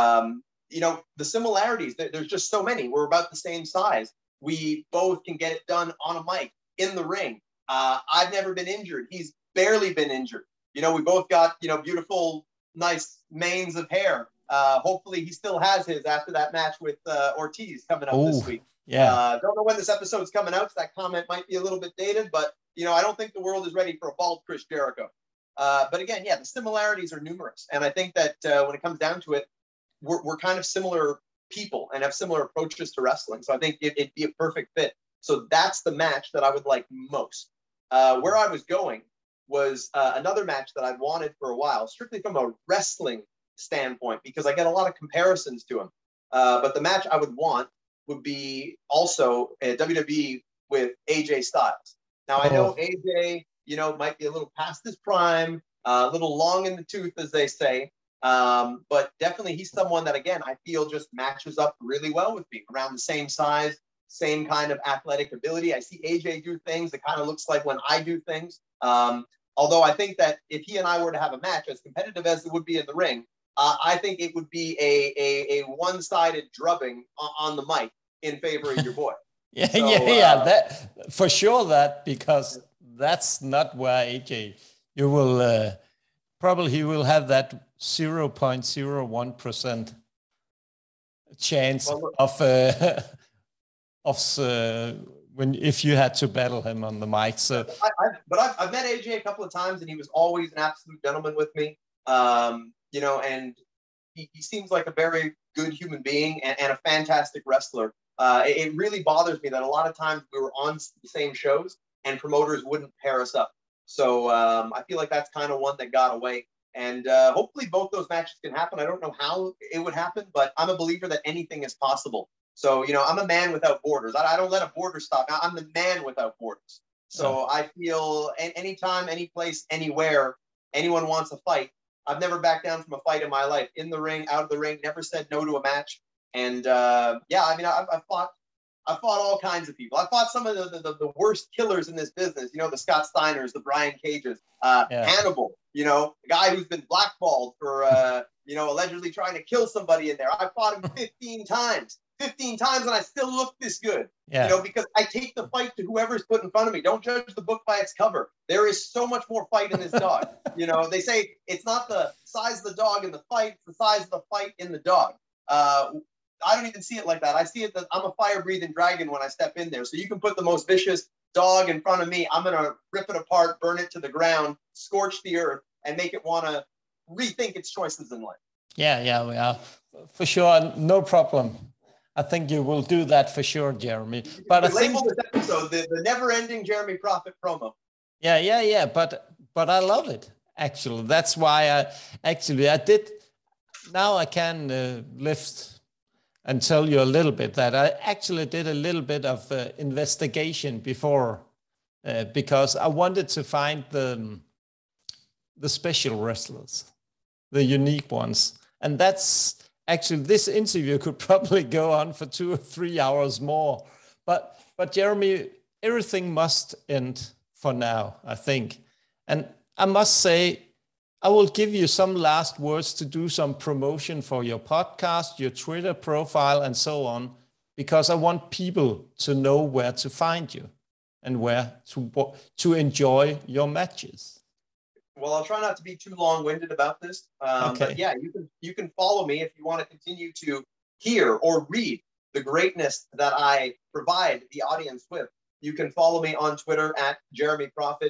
You know, the similarities, there's just so many. We're about the same size. We both can get it done on a mic, in the ring. I've never been injured. He's barely been injured. You know, we both got, you know, beautiful, nice manes of hair. Hopefully he still has his after that match with Ortiz coming up this week. Yeah. Don't know when this episode's coming out, so that comment might be a little bit dated, but, you know, I don't think the world is ready for a bald Chris Jericho. But again, yeah, the similarities are numerous. And I think that when it comes down to it, we're kind of similar people and have similar approaches to wrestling. So I think it'd be a perfect fit. So that's the match that I would like most. Where I was going was another match that I'd wanted for a while, strictly from a wrestling standpoint, because I get a lot of comparisons to him. But the match I would want would be also a WWE with AJ Styles. Now, I know AJ, you know, might be a little past his prime, a little long in the tooth, as they say. But definitely he's someone that, again, I feel just matches up really well with me, around the same size, same kind of athletic ability. I see AJ do things that kind of looks like when I do things. Although I think that if he and I were to have a match, as competitive as it would be in the ring, I think it would be a one-sided drubbing on the mic in favor of your boy. That for sure. That because that's not where AJ. You will probably he will have that 0.01% chance if you had to battle him on the mic. So, I've met AJ a couple of times, and he was always an absolute gentleman with me. You know, and he seems like a very good human being and a fantastic wrestler. It really bothers me that a lot of times we were on the same shows and promoters wouldn't pair us up. So I feel like that's kind of one that got away. And hopefully both those matches can happen. I don't know how it would happen, but I'm a believer that anything is possible. So, you know, I'm a man without borders. I don't let a border stop. I'm the man without borders. So I feel anytime, any place, anywhere, anyone wants a fight, I've never backed down from a fight in my life. In the ring, out of the ring, never said no to a match. And yeah, I mean, I've fought all kinds of people. I fought some of the worst killers in this business. You know, the Scott Steiners, the Brian Cages, Hannibal. You know, the guy who's been blackballed for you know, allegedly trying to kill somebody in there. I fought him 15 times. 15 times, and I still look this good. You know, because I take the fight to whoever's put in front of me. Don't judge the book by its cover. There is so much more fight in this dog. You know, they say it's not the size of the dog in the fight, it's the size of the fight in the dog. I don't even see it like that. I see it that I'm a fire-breathing dragon when I step in there. So you can put the most vicious dog in front of me, I'm going to rip it apart, burn it to the ground, scorch the earth, and make it want to rethink its choices in life. Yeah. For sure. No problem. I think you will do that for sure, Jeremy. But I label think this episode the never-ending Jeremy Prophet promo. Yeah. But I love it. Actually, that's why I did. Now I can lift and tell you a little bit that I actually did a little bit of investigation before because I wanted to find the special wrestlers, the unique ones. And that's actually, this interview could probably go on for 2 or 3 hours more. But Jeremy, everything must end for now, I think. And I must say, I will give you some last words to do some promotion for your podcast, your Twitter profile, and so on, because I want people to know where to find you and where to enjoy your matches. Well, I'll try not to be too long-winded about this. Okay. But yeah, you can follow me if you want to continue to hear or read the greatness that I provide the audience with. You can follow me on Twitter at Jeremy Prophet,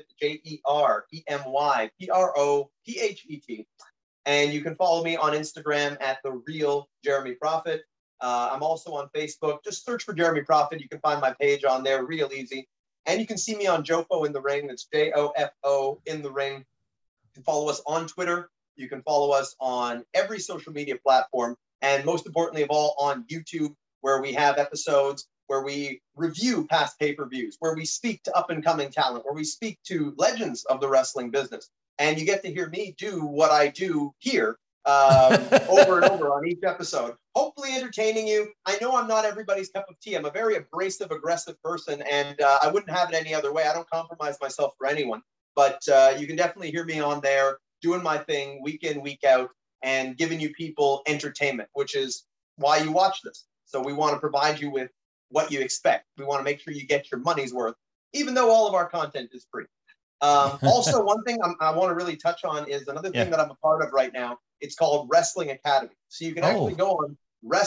JeremyProphet. And you can follow me on Instagram at The Real Jeremy Prophet. I'm also on Facebook. Just search for Jeremy Prophet. You can find my page on there real easy. And you can see me on Jofo in the Ring. That's JOFO in the Ring. You can follow us on Twitter. You can follow us on every social media platform. And most importantly of all, on YouTube, where we have episodes where we review past pay-per-views, where we speak to up-and-coming talent, where we speak to legends of the wrestling business. And you get to hear me do what I do here over and over on each episode, hopefully entertaining you. I know I'm not everybody's cup of tea. I'm a very abrasive, aggressive person, and I wouldn't have it any other way. I don't compromise myself for anyone. But you can definitely hear me on there doing my thing week in, week out, and giving you people entertainment, which is why you watch this. So we want to provide you with what you expect. We want to make sure you get your money's worth, even though all of our content is free. Also, one thing I want to really touch on is another thing that I'm a part of right now. It's called Wrestling Academy. So you can actually go on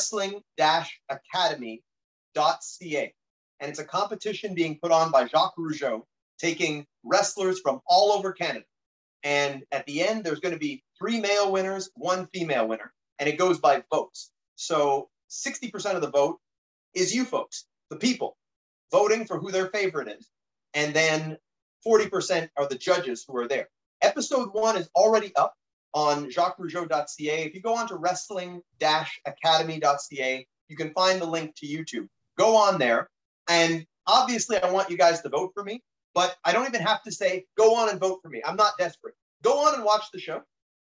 wrestling-academy.ca. And it's a competition being put on by Jacques Rougeau, taking wrestlers from all over Canada. And at the end, there's going to be 3 male winners, 1 female winner. And it goes by votes. So 60% of the vote is you folks, the people, voting for who their favorite is. And then 40% are the judges who are there. Episode 1 is already up on jacquesrougeau.ca. If you go on to wrestling-academy.ca, you can find the link to YouTube. Go on there. And obviously, I want you guys to vote for me, but I don't even have to say, go on and vote for me. I'm not desperate. Go on and watch the show.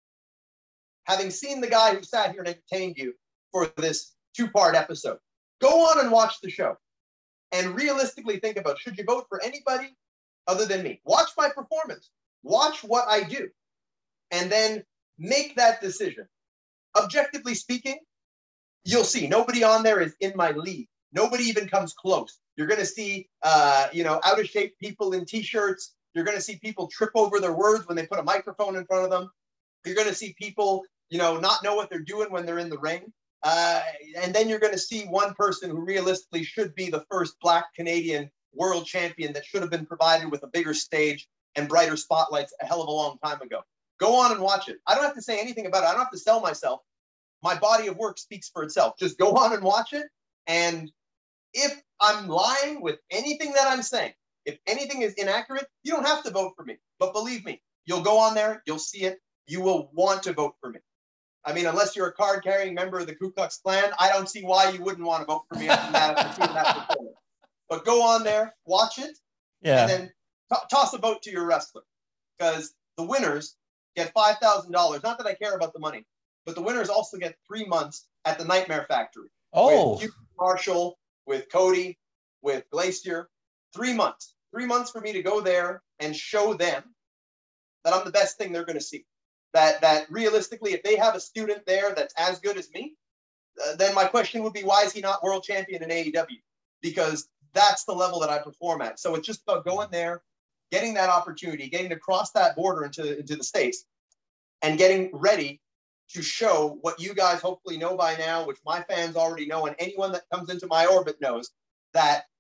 Having seen the guy who sat here and entertained you for this 2-part episode, go on and watch the show and realistically think about, should you vote for anybody other than me? Watch my performance. Watch what I do. And then make that decision. Objectively speaking, you'll see nobody on there is in my league. Nobody even comes close. You're going to see, out of shape people in T-shirts. You're going to see people trip over their words when they put a microphone in front of them. You're going to see people, not know what they're doing when they're in the ring. And then you're going to see one person who realistically should be the first Black Canadian world champion that should have been provided with a bigger stage and brighter spotlights a hell of a long time ago. Go on and watch it. I don't have to say anything about it. I don't have to sell myself. My body of work speaks for itself. Just go on and watch it. And if I'm lying with anything that I'm saying, if anything is inaccurate, you don't have to vote for me. But believe me, you'll go on there, you'll see it, you will want to vote for me. I mean, unless you're a card-carrying member of the Ku Klux Klan, I don't see why you wouldn't want to vote for me after seeing that performance. But go on there, watch it, and then toss a vote to your wrestler. Because the winners get $5,000. Not that I care about the money, but the winners also get 3 months at the Nightmare Factory. With Hugh Marshall, with Cody, with Glacier. 3 months. 3 months for me to go there and show them that I'm the best thing they're going to see. That realistically, if they have a student there that's as good as me, then my question would be, why is he not world champion in AEW? Because that's the level that I perform at. So it's just about going there, getting that opportunity, getting to cross that border into the States, and getting ready to show what you guys hopefully know by now, which my fans already know, and anyone that comes into my orbit knows, that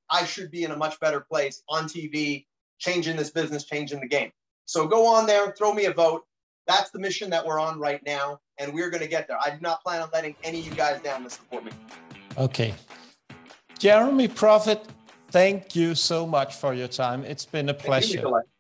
I should be in a much better place on TV, changing this business, changing the game. So go on there, throw me a vote. That's the mission that we're on right now, and we're going to get there. I do not plan on letting any of you guys down to support me. Okay. Jeremy Prophet, thank you so much for your time. It's been a pleasure. Thank you, Nikolai.